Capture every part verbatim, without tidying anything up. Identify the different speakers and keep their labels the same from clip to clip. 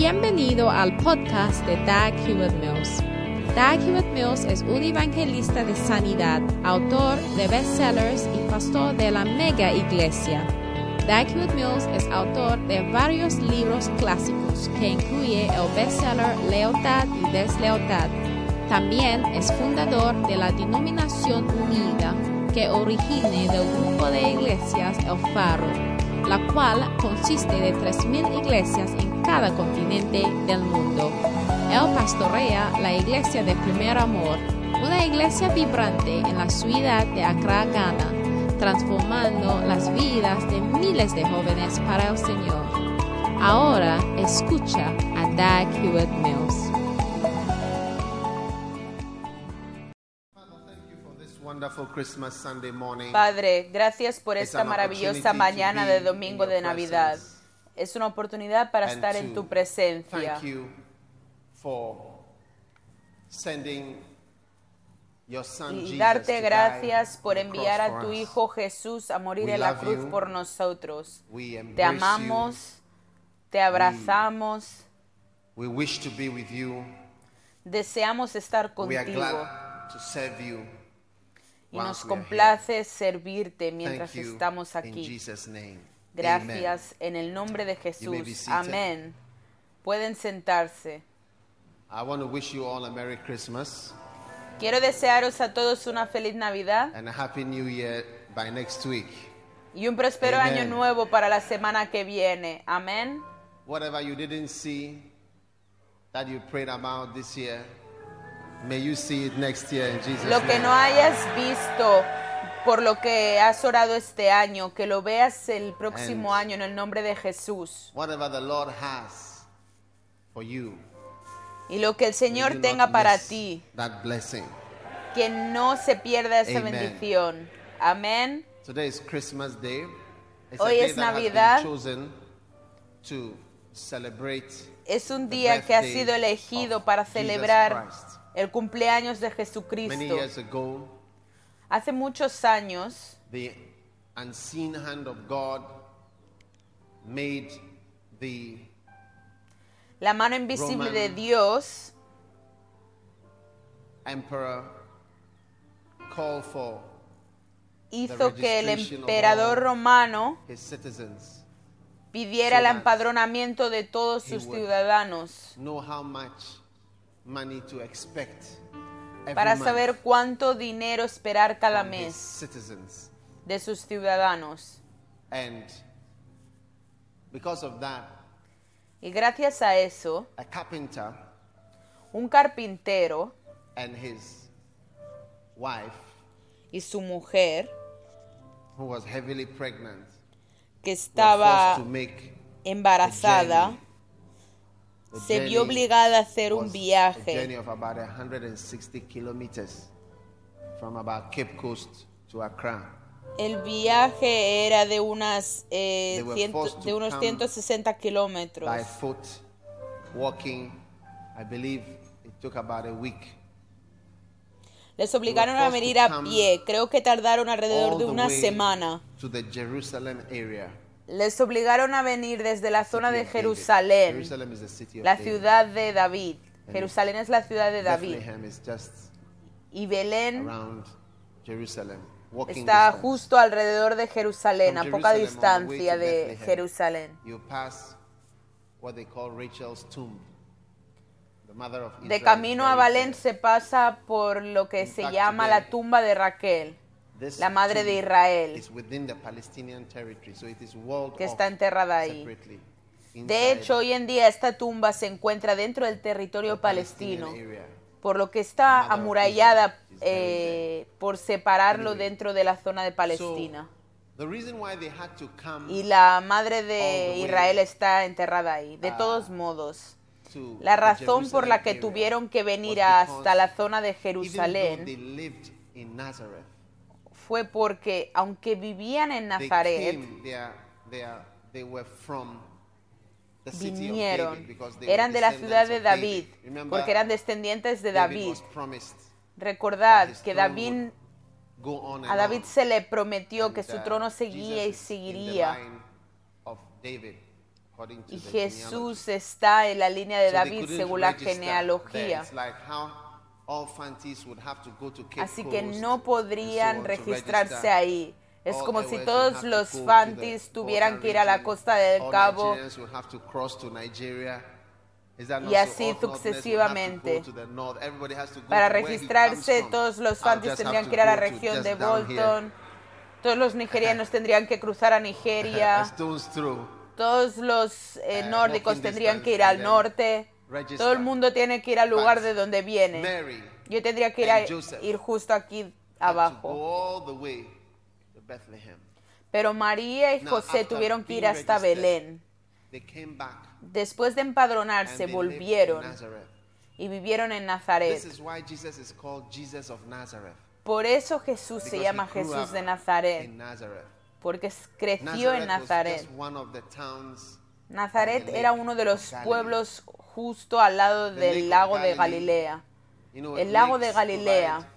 Speaker 1: Bienvenido al podcast de Dag Hewlett-Mills. Dag Hewlett-Mills es un evangelista de sanidad, autor de bestsellers y pastor de la mega iglesia. Dag Hewlett-Mills es autor de varios libros clásicos que incluye el bestseller Lealtad y Deslealtad. También es fundador de la Denominación Unida, que origina del grupo de iglesias El Faro, la cual consiste de tres mil iglesias en cada continente del mundo. Él pastorea la iglesia de Primer Amor, una iglesia vibrante en la ciudad de Accra, Ghana, transformando las vidas de miles de jóvenes para el Señor. Ahora escucha a Dag Hewlett-Mills.
Speaker 2: Padre, gracias por esta maravillosa mañana de domingo de Navidad. Es una oportunidad para estar en tu presencia. Y darte gracias por enviar a tu Hijo Jesús a morir en la cruz por nosotros. Te amamos, te abrazamos, deseamos estar contigo. Y nos complace servirte mientras estamos aquí. Gracias en el nombre de Jesús. Amén. Pueden sentarse. Quiero desearos a todos una feliz Navidad y un próspero año nuevo para la semana que viene. Amén.
Speaker 3: Whatever you didn't see that you prayed about this year, may you see it next year in Jesus'
Speaker 2: Lo que no hayas visto por lo que has orado este año, que lo veas el próximo
Speaker 3: And
Speaker 2: año en el nombre de Jesús.
Speaker 3: Whatever the Lord has for you,
Speaker 2: Y lo que el
Speaker 3: may
Speaker 2: Señor
Speaker 3: you
Speaker 2: tenga
Speaker 3: not
Speaker 2: para
Speaker 3: miss
Speaker 2: ti,
Speaker 3: that blessing.
Speaker 2: que no se pierda esa
Speaker 3: Amen.
Speaker 2: bendición. Amén.
Speaker 3: Today is Christmas Day. It's
Speaker 2: Hoy
Speaker 3: a day
Speaker 2: es
Speaker 3: that
Speaker 2: Navidad.
Speaker 3: has been chosen to celebrate
Speaker 2: Es un
Speaker 3: the
Speaker 2: día que ha
Speaker 3: birthday
Speaker 2: sido elegido
Speaker 3: of
Speaker 2: para
Speaker 3: Jesus
Speaker 2: celebrar
Speaker 3: Christ.
Speaker 2: el cumpleaños de
Speaker 3: Many
Speaker 2: Jesucristo.
Speaker 3: years ago,
Speaker 2: Hace muchos años,
Speaker 3: the unseen hand of God made the
Speaker 2: la mano invisible
Speaker 3: Roman
Speaker 2: de Dios
Speaker 3: emperor call for
Speaker 2: hizo que el
Speaker 3: registration of
Speaker 2: emperador
Speaker 3: all
Speaker 2: romano
Speaker 3: his citizens,
Speaker 2: pidiera
Speaker 3: so
Speaker 2: el
Speaker 3: that
Speaker 2: empadronamiento de todos
Speaker 3: he
Speaker 2: sus
Speaker 3: would
Speaker 2: ciudadanos
Speaker 3: know how much money to expect every
Speaker 2: para
Speaker 3: month
Speaker 2: saber cuánto dinero esperar cada
Speaker 3: from his
Speaker 2: mes
Speaker 3: citizens.
Speaker 2: de sus ciudadanos.
Speaker 3: And because of that,
Speaker 2: Y gracias a eso,
Speaker 3: a carpenter
Speaker 2: un carpintero
Speaker 3: and his wife,
Speaker 2: y su mujer,
Speaker 3: who was heavily pregnant,
Speaker 2: que
Speaker 3: were
Speaker 2: estaba
Speaker 3: forced to make
Speaker 2: embarazada,
Speaker 3: journey. The
Speaker 2: se vio
Speaker 3: journey
Speaker 2: obligada a hacer un
Speaker 3: was a
Speaker 2: viaje
Speaker 3: journey of about one hundred sixty kilometers from about Cape Coast to Accra.
Speaker 2: El viaje era de, unas, eh,
Speaker 3: They were
Speaker 2: ciento-
Speaker 3: forced to
Speaker 2: de unos
Speaker 3: come
Speaker 2: ciento sesenta kilómetros.
Speaker 3: By foot, walking, I believe it took about a week.
Speaker 2: Les obligaron a
Speaker 3: forced to
Speaker 2: venir a
Speaker 3: come
Speaker 2: pie. Creo que tardaron alrededor
Speaker 3: All
Speaker 2: de
Speaker 3: the
Speaker 2: una
Speaker 3: way
Speaker 2: semana.
Speaker 3: to the Jerusalem area.
Speaker 2: Les obligaron a venir desde la zona
Speaker 3: City
Speaker 2: de
Speaker 3: of David.
Speaker 2: Jerusalén,
Speaker 3: Jerusalem is the city of
Speaker 2: la
Speaker 3: David.
Speaker 2: ciudad de David.
Speaker 3: And
Speaker 2: Jerusalén es la ciudad de David.
Speaker 3: Bethlehem is just
Speaker 2: Y Belén
Speaker 3: around Jerusalem. Walking
Speaker 2: está
Speaker 3: distance.
Speaker 2: justo alrededor de Jerusalén, a
Speaker 3: From
Speaker 2: poca
Speaker 3: Jerusalem on the way
Speaker 2: distancia
Speaker 3: to
Speaker 2: de
Speaker 3: Bethlehem,
Speaker 2: Jerusalén.
Speaker 3: You pass what they call Rachel's tomb. The mother of Israel
Speaker 2: De
Speaker 3: is
Speaker 2: camino a
Speaker 3: buried
Speaker 2: Belén
Speaker 3: there.
Speaker 2: se pasa por lo que
Speaker 3: In
Speaker 2: se
Speaker 3: fact,
Speaker 2: llama
Speaker 3: today,
Speaker 2: la tumba de Raquel,
Speaker 3: This
Speaker 2: la madre de
Speaker 3: tomb
Speaker 2: Israel,
Speaker 3: is within the Palestinian territory, so it is walled
Speaker 2: que
Speaker 3: off
Speaker 2: está enterrada ahí.
Speaker 3: separately
Speaker 2: De
Speaker 3: inside
Speaker 2: hecho, hoy en día esta tumba se encuentra dentro del
Speaker 3: the
Speaker 2: territorio
Speaker 3: Palestinian
Speaker 2: palestino,
Speaker 3: area.
Speaker 2: por lo que está
Speaker 3: The mother of
Speaker 2: amurallada
Speaker 3: Israel is buried
Speaker 2: eh, por separarlo
Speaker 3: Anyway.
Speaker 2: dentro de la zona de
Speaker 3: So,
Speaker 2: Palestina.
Speaker 3: the reason why they had to come
Speaker 2: Y la madre
Speaker 3: all
Speaker 2: de
Speaker 3: the way
Speaker 2: Israel está enterrada ahí. De
Speaker 3: ah,
Speaker 2: todos modos,
Speaker 3: to
Speaker 2: la
Speaker 3: the
Speaker 2: razón por la que
Speaker 3: Jerusalem area
Speaker 2: tuvieron que venir
Speaker 3: was
Speaker 2: hasta
Speaker 3: because
Speaker 2: la zona de
Speaker 3: even though they
Speaker 2: Jerusalén
Speaker 3: lived in Nazareth,
Speaker 2: fue porque, aunque vivían en
Speaker 3: they
Speaker 2: Nazaret,
Speaker 3: came, they are- they are- they were from the city of
Speaker 2: vinieron,
Speaker 3: David because they were
Speaker 2: eran de la ciudad
Speaker 3: descendants
Speaker 2: de
Speaker 3: of
Speaker 2: David,
Speaker 3: Remember,
Speaker 2: porque eran descendientes de
Speaker 3: David
Speaker 2: David.
Speaker 3: was promised
Speaker 2: Recordad
Speaker 3: that his
Speaker 2: que
Speaker 3: throne
Speaker 2: David,
Speaker 3: would go on
Speaker 2: a
Speaker 3: and
Speaker 2: David
Speaker 3: on.
Speaker 2: se le prometió
Speaker 3: And,
Speaker 2: que su
Speaker 3: uh,
Speaker 2: trono seguía y
Speaker 3: Jesus is in the
Speaker 2: seguiría.
Speaker 3: line of David.
Speaker 2: Y Jesús está en la línea de David según la genealogía. Así que no podrían registrarse ahí. Es como si todos los Fantis tuvieran que ir a la costa del Cabo y así sucesivamente. Para registrarse, todos los Fantis tendrían que ir a la región de Bolton. Todos los nigerianos tendrían que cruzar a Nigeria. Todos los eh, nórdicos tendrían que ir al norte. Todo el mundo tiene que ir al lugar de donde viene. Yo tendría que ir, a, ir justo aquí abajo. Pero María y José tuvieron que ir hasta Belén. Después de empadronarse, volvieron y vivieron en Nazaret. Por eso Jesús se llama Jesús de Nazaret, porque creció en Nazaret. Nazaret era uno de los pueblos justo al lado del lago de Galilea. El lago de Galilea,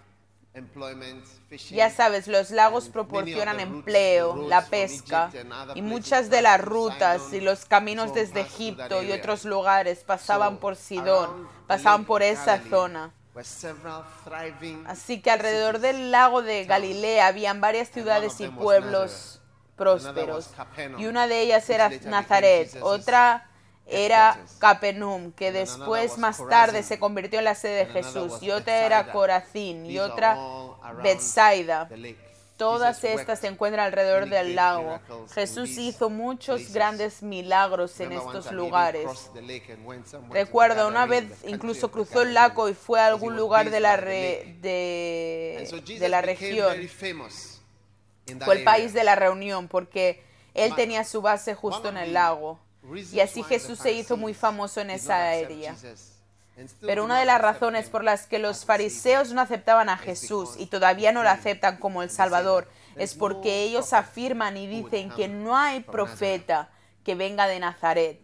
Speaker 2: ya sabes, los lagos proporcionan empleo, la pesca, y muchas de las rutas y los caminos desde Egipto y otros lugares pasaban por Sidón, pasaban por esa zona. Así que alrededor del lago de Galilea habían varias ciudades y pueblos prósperos, y una de ellas era Nazaret, otra era Capernaum, que después más tarde se convirtió en la sede de Jesús, y otra era Corazín, y otra Betsaida. Todas estas se encuentran alrededor del lago. Jesús hizo muchos grandes milagros en estos lugares. Recuerdo, una vez incluso cruzó el lago y fue a algún lugar de la, re, de, de la región. Fue el país de la reunión, porque él tenía su base justo en el lago. Y así Jesús se hizo muy famoso en esa área. Pero una de las razones por las que los fariseos no aceptaban a Jesús y todavía no lo aceptan como el Salvador es porque ellos afirman y dicen que no hay profeta que venga de Nazaret.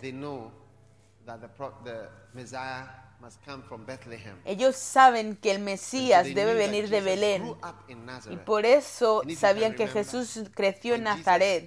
Speaker 2: Ellos saben que el Mesías debe venir de Belén, y por eso sabían que Jesús creció en Nazaret.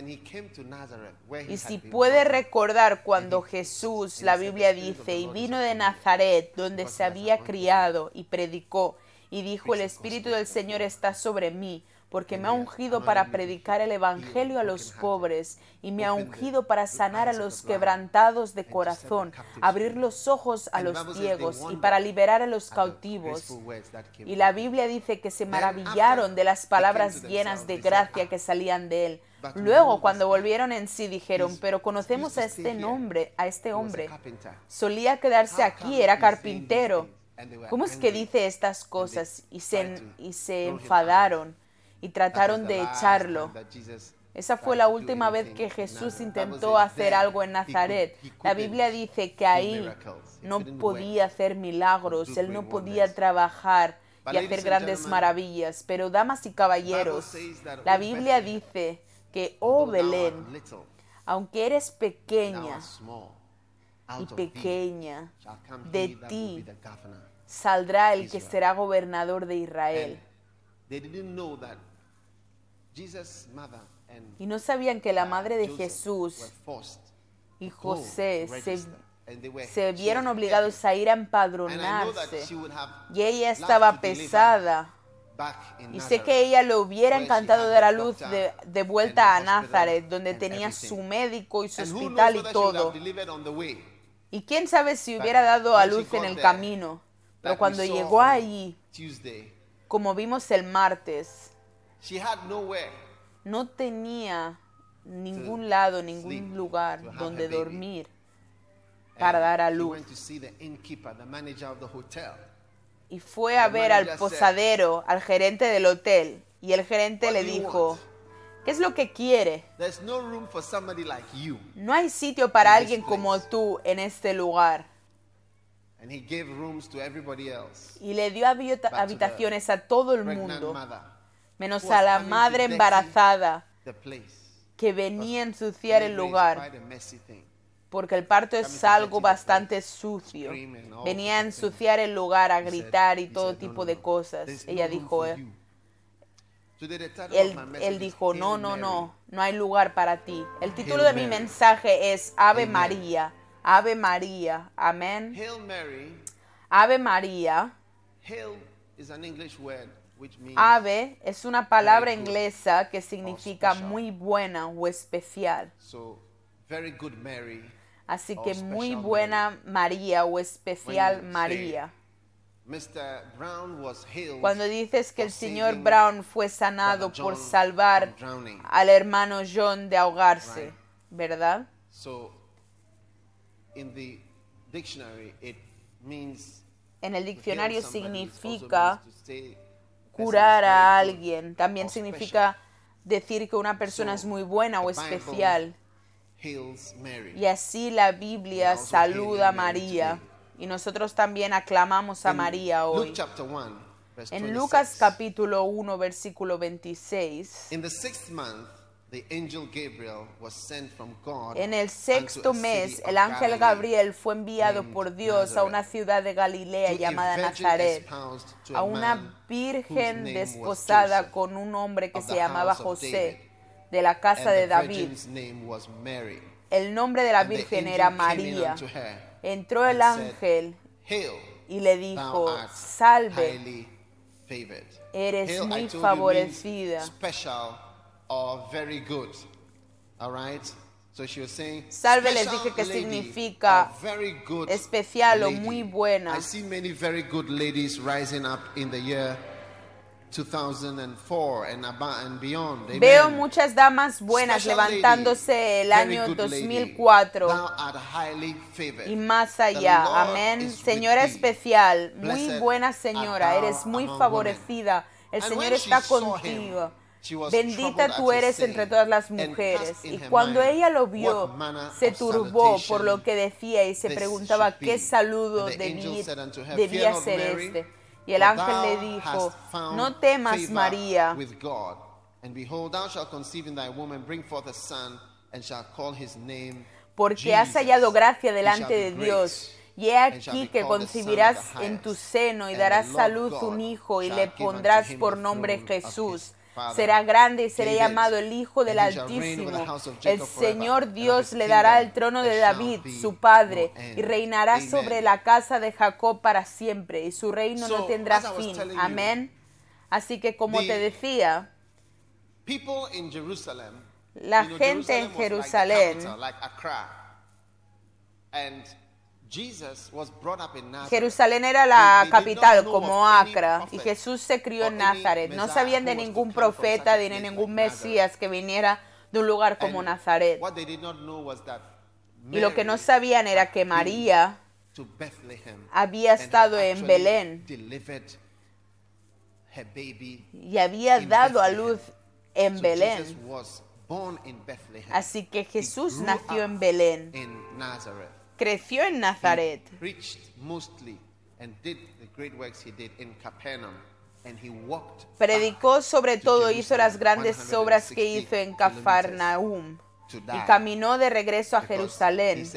Speaker 2: Y si puede recordar cuando Jesús, la Biblia dice, y vino de Nazaret, donde se había criado, y predicó, y dijo, el Espíritu del Señor está sobre mí, porque me ha ungido para predicar el Evangelio a los pobres, y me ha ungido para sanar a los quebrantados de corazón, abrir los ojos a los ciegos, y para liberar a los cautivos. Y la Biblia dice que se maravillaron de las palabras llenas de gracia que salían de él. Luego, cuando volvieron en sí, dijeron, pero conocemos a este nombre, a este hombre. Solía quedarse aquí, era carpintero. ¿Cómo es que dice estas cosas? Y se, y se enfadaron y trataron de echarlo. Esa fue la última vez que Jesús intentó hacer algo en Nazaret. La Biblia dice que ahí no podía hacer milagros, él no podía trabajar y hacer grandes maravillas. Pero, damas y caballeros, la Biblia dice que, oh Belén, aunque eres pequeña y pequeña, de ti saldrá el que será gobernador de Israel. Y no sabían que la madre de Jesús y José se, se vieron obligados a ir a empadronarse, y ella estaba pesada. Y sé que ella le hubiera encantado dar a luz de, de vuelta a Nazaret, donde tenía su médico y su hospital y todo. Y quién sabe si hubiera dado a luz en el camino. Pero cuando llegó allí, como vimos el martes, no tenía ningún lado, ningún lugar donde dormir para dar a luz. Y fue a ver al posadero, al gerente del hotel, y el gerente le dijo, ¿qué es lo que quiere? No hay sitio para alguien como tú en este lugar. Y le dio habitaciones a todo el mundo, menos a la madre embarazada que venía a ensuciar el lugar, porque el parto es algo bastante sucio. Venía a ensuciar el lugar, a gritar y todo tipo de cosas. Ella dijo, eh, Él, él dijo, no, no, no, no hay lugar para ti. El título de mi mensaje es Ave María, Ave María, amén. Ave María. Ave es una palabra inglesa que significa muy buena o especial. Así que muy buena María o especial María. Cuando dices que el señor Brown fue sanado por salvar al hermano John de ahogarse, ¿verdad? En el diccionario significa curar a alguien. También significa decir que una persona es muy buena o especial. Y así la Biblia saluda a María. Y nosotros también aclamamos a María hoy. En Lucas capítulo uno, versículo veintiséis. En el sexto mes, el ángel Gabriel fue enviado por Dios a una ciudad de Galilea llamada Nazaret, a una virgen desposada con un hombre que se llamaba José, de la casa de David. El nombre de la virgen era María. Entró el ángel y le dijo, salve, eres muy favorecida. Salve les dije que significa especial o muy buena. Veo muchas damas buenas levantándose el año dos mil cuatro y más allá. Amén. Señora especial, muy buena señora, eres muy favorecida. El Señor está contigo. Bendita tú eres entre todas las mujeres. Y cuando ella lo vio, se turbó por lo que decía y se preguntaba qué saludo debía, debía ser este. Y el ángel le dijo, no temas, María, porque has hallado gracia delante de Dios. Y he aquí que concebirás en tu seno y darás a luz un hijo y le pondrás por nombre Jesús. Será grande y será llamado el Hijo del Altísimo. El Señor Dios le dará el trono de David, su padre, y reinará sobre la casa de Jacob para siempre, y su reino no tendrá fin. Amén. Así que, como te decía, la gente en Jerusalén, Jerusalén era la capital como Acra y Jesús se crió en Nazaret. No sabían de ningún profeta ni de ningún Mesías que viniera de un lugar como Nazaret. Y lo que no sabían era que María había estado en Belén y había dado a luz en Belén. Así que Jesús nació en Belén. Creció en Nazaret. Predicó sobre todo, hizo las grandes obras que hizo en Cafarnaúm y caminó de regreso a Jerusalén.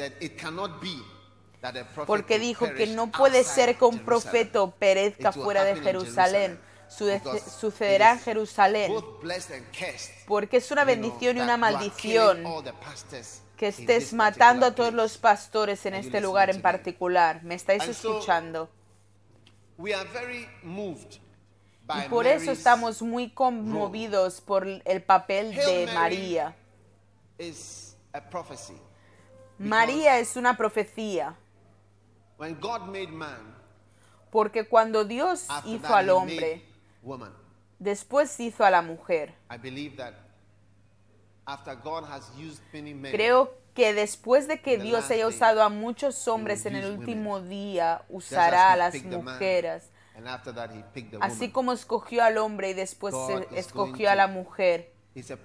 Speaker 2: Porque dijo que no puede ser que un profeta perezca fuera de Jerusalén. Sucederá en Jerusalén. Porque es una bendición y una maldición que estés matando a todos los pastores en este lugar en particular. ¿Me estáis escuchando? Y por eso estamos muy conmovidos por el papel de María. María es una profecía. Porque cuando Dios hizo al hombre, después hizo a la mujer. Creo que después de que Dios haya usado a muchos hombres en el último día, usará a las mujeres. Así como escogió al hombre y después escogió a la mujer.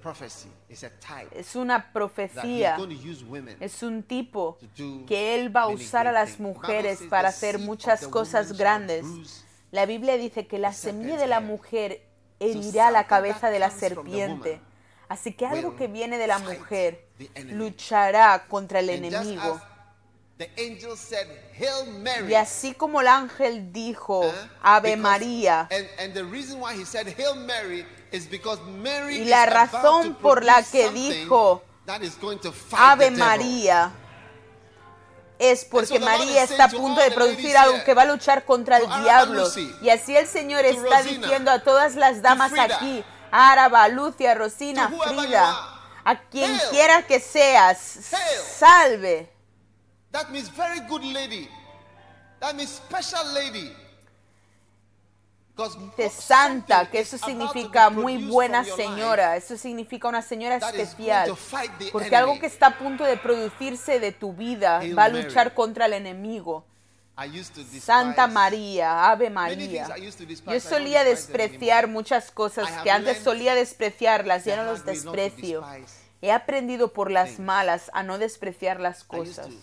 Speaker 2: Es una profecía, es un tipo que Él va a usar a las mujeres para hacer muchas cosas grandes. La Biblia dice que la semilla de la mujer herirá la cabeza de la serpiente. Así que algo que viene de la mujer luchará contra el enemigo.
Speaker 3: the angel said, Hail Mary.
Speaker 2: Y así como el ángel dijo, Ave
Speaker 3: Because-
Speaker 2: María,
Speaker 3: And, and the reason why he said Hail Mary is because Mary
Speaker 2: y
Speaker 3: is
Speaker 2: la
Speaker 3: about
Speaker 2: razón
Speaker 3: to
Speaker 2: por la
Speaker 3: produce
Speaker 2: que
Speaker 3: something
Speaker 2: dijo
Speaker 3: that is going to fight
Speaker 2: Ave
Speaker 3: the devil.
Speaker 2: María, es porque
Speaker 3: And so the Lord
Speaker 2: María
Speaker 3: is
Speaker 2: está a
Speaker 3: saying to
Speaker 2: punto
Speaker 3: all
Speaker 2: de
Speaker 3: the ladies
Speaker 2: producir algo
Speaker 3: here,
Speaker 2: que va a luchar contra el
Speaker 3: to Araba
Speaker 2: diablo.
Speaker 3: Lucy,
Speaker 2: Y así el Señor
Speaker 3: to
Speaker 2: está
Speaker 3: Rosina,
Speaker 2: diciendo a todas las damas
Speaker 3: Frida,
Speaker 2: aquí, Araba, Lucia, Rosina,
Speaker 3: to whoever you
Speaker 2: Frida,
Speaker 3: are,
Speaker 2: a quien
Speaker 3: hail,
Speaker 2: quiera que seas,
Speaker 3: hail.
Speaker 2: salve.
Speaker 3: That means very good lady. That means special lady. Because
Speaker 2: Dice santa,
Speaker 3: something
Speaker 2: que
Speaker 3: is
Speaker 2: eso
Speaker 3: about to be
Speaker 2: significa muy
Speaker 3: produced
Speaker 2: buena
Speaker 3: from your life
Speaker 2: señora, eso significa una señora
Speaker 3: that is going
Speaker 2: especial,
Speaker 3: to fight the
Speaker 2: porque
Speaker 3: enemy.
Speaker 2: algo que está a punto de producirse de tu vida
Speaker 3: Hail
Speaker 2: va a
Speaker 3: Mary.
Speaker 2: luchar contra el enemigo.
Speaker 3: I used to despise
Speaker 2: Santa María, Ave
Speaker 3: many
Speaker 2: María.
Speaker 3: things I used to despise.
Speaker 2: Yo
Speaker 3: I don't
Speaker 2: solía
Speaker 3: despise them
Speaker 2: despreciar
Speaker 3: anymore.
Speaker 2: muchas cosas
Speaker 3: I have
Speaker 2: que antes
Speaker 3: learned
Speaker 2: solía despreciarlas, ya
Speaker 3: the
Speaker 2: no los
Speaker 3: hard way not to
Speaker 2: desprecio.
Speaker 3: despise
Speaker 2: He aprendido por las
Speaker 3: things.
Speaker 2: malas a no despreciar las
Speaker 3: I used
Speaker 2: cosas.
Speaker 3: to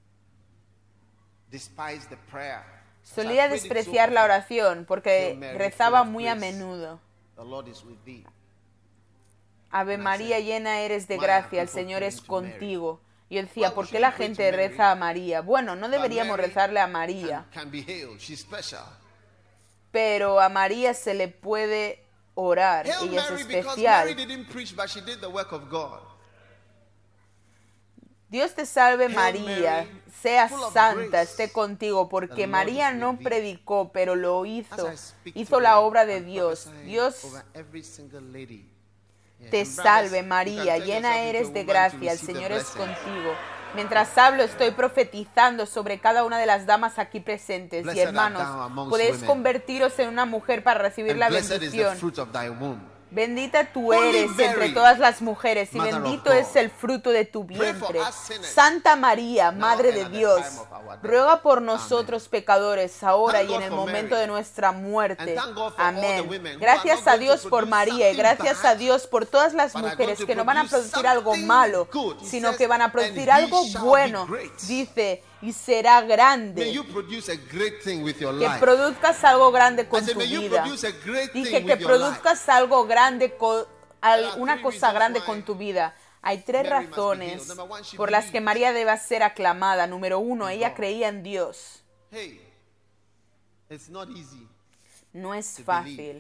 Speaker 3: despise the prayer. As I
Speaker 2: Solía
Speaker 3: prayed it so
Speaker 2: despreciar la
Speaker 3: often,
Speaker 2: oración porque
Speaker 3: Hail Mary,
Speaker 2: rezaba
Speaker 3: full of
Speaker 2: muy a
Speaker 3: grace.
Speaker 2: menudo.
Speaker 3: The Lord is with thee.
Speaker 2: Ave
Speaker 3: And I
Speaker 2: María,
Speaker 3: said,
Speaker 2: llena eres de
Speaker 3: "Why are
Speaker 2: gracia, el
Speaker 3: people
Speaker 2: Señor
Speaker 3: praying
Speaker 2: es
Speaker 3: to Mary?"
Speaker 2: contigo. Y yo decía,
Speaker 3: Why
Speaker 2: ¿por
Speaker 3: we
Speaker 2: qué la
Speaker 3: shouldn't pray
Speaker 2: gente
Speaker 3: to Mary?
Speaker 2: reza a María? Bueno, no
Speaker 3: But
Speaker 2: deberíamos
Speaker 3: Mary
Speaker 2: rezarle a María,
Speaker 3: Can, can be hailed. She's special.
Speaker 2: pero a María se le puede orar.
Speaker 3: Hail
Speaker 2: Ella es
Speaker 3: Mary because Mary
Speaker 2: especial.
Speaker 3: didn't preach, but she did the work of God.
Speaker 2: Dios te salve
Speaker 3: Hail
Speaker 2: María,
Speaker 3: Mary,
Speaker 2: sea
Speaker 3: full of
Speaker 2: santa,
Speaker 3: grace.
Speaker 2: esté contigo, porque
Speaker 3: The Lord
Speaker 2: María
Speaker 3: is with
Speaker 2: no
Speaker 3: thee.
Speaker 2: predicó, pero lo
Speaker 3: As
Speaker 2: hizo.
Speaker 3: I speak
Speaker 2: Hizo
Speaker 3: today,
Speaker 2: la obra de
Speaker 3: I'm
Speaker 2: Dios.
Speaker 3: prophesying
Speaker 2: Dios
Speaker 3: over every single lady. Yeah,
Speaker 2: te
Speaker 3: and brothers,
Speaker 2: salve
Speaker 3: you can
Speaker 2: María,
Speaker 3: turn
Speaker 2: llena
Speaker 3: yourself into
Speaker 2: eres
Speaker 3: a
Speaker 2: de
Speaker 3: woman to
Speaker 2: gracia, el
Speaker 3: receive the
Speaker 2: Señor es
Speaker 3: blessings.
Speaker 2: contigo. Mientras hablo, estoy profetizando sobre cada una de las damas aquí presentes. Y
Speaker 3: Blessed art
Speaker 2: hermanos,
Speaker 3: thou amongst
Speaker 2: podéis
Speaker 3: women.
Speaker 2: convertiros en una mujer para recibir
Speaker 3: And
Speaker 2: la
Speaker 3: blessed is the
Speaker 2: bendición.
Speaker 3: fruit of thy womb.
Speaker 2: Bendita tú
Speaker 3: Holy
Speaker 2: eres
Speaker 3: Mary,
Speaker 2: entre todas las mujeres y
Speaker 3: Mother of
Speaker 2: bendito
Speaker 3: God,
Speaker 2: es el fruto de tu
Speaker 3: pray for
Speaker 2: vientre.
Speaker 3: us sinners,
Speaker 2: Santa María,
Speaker 3: now
Speaker 2: Madre
Speaker 3: and
Speaker 2: de
Speaker 3: at the
Speaker 2: Dios,
Speaker 3: time of our death.
Speaker 2: ruega por nosotros pecadores, ahora
Speaker 3: Thank
Speaker 2: y en
Speaker 3: God
Speaker 2: el
Speaker 3: for
Speaker 2: momento
Speaker 3: Mary.
Speaker 2: de nuestra muerte.
Speaker 3: And thank God for all the
Speaker 2: Amén.
Speaker 3: women who
Speaker 2: Gracias
Speaker 3: are not
Speaker 2: a
Speaker 3: going
Speaker 2: Dios
Speaker 3: to
Speaker 2: por
Speaker 3: produce
Speaker 2: María y
Speaker 3: something
Speaker 2: gracias
Speaker 3: bad,
Speaker 2: a Dios por todas las
Speaker 3: but are
Speaker 2: mujeres
Speaker 3: going to
Speaker 2: que no van a
Speaker 3: produce
Speaker 2: producir algo
Speaker 3: something
Speaker 2: malo,
Speaker 3: good. He
Speaker 2: sino
Speaker 3: says,
Speaker 2: que van a
Speaker 3: "And
Speaker 2: producir
Speaker 3: he
Speaker 2: algo
Speaker 3: shall be
Speaker 2: bueno.
Speaker 3: great."
Speaker 2: Dice, y será
Speaker 3: May
Speaker 2: grande.
Speaker 3: you produce a great thing with your
Speaker 2: Que
Speaker 3: life.
Speaker 2: produzcas algo grande con
Speaker 3: I said,
Speaker 2: tu
Speaker 3: may you
Speaker 2: vida.
Speaker 3: produce a great
Speaker 2: Dije
Speaker 3: thing
Speaker 2: que
Speaker 3: with your life.
Speaker 2: produzcas algo grande, con, al-
Speaker 3: There are
Speaker 2: una
Speaker 3: three
Speaker 2: cosa
Speaker 3: reasons
Speaker 2: grande
Speaker 3: why
Speaker 2: con tu vida. Hay tres
Speaker 3: Mary must be
Speaker 2: razones
Speaker 3: healed. Number one, she
Speaker 2: por las que
Speaker 3: believed
Speaker 2: María debe ser aclamada. Número uno,
Speaker 3: in
Speaker 2: ella
Speaker 3: God.
Speaker 2: creía en Dios.
Speaker 3: Hey, it's not easy.
Speaker 2: No es
Speaker 3: To
Speaker 2: fácil
Speaker 3: believe. It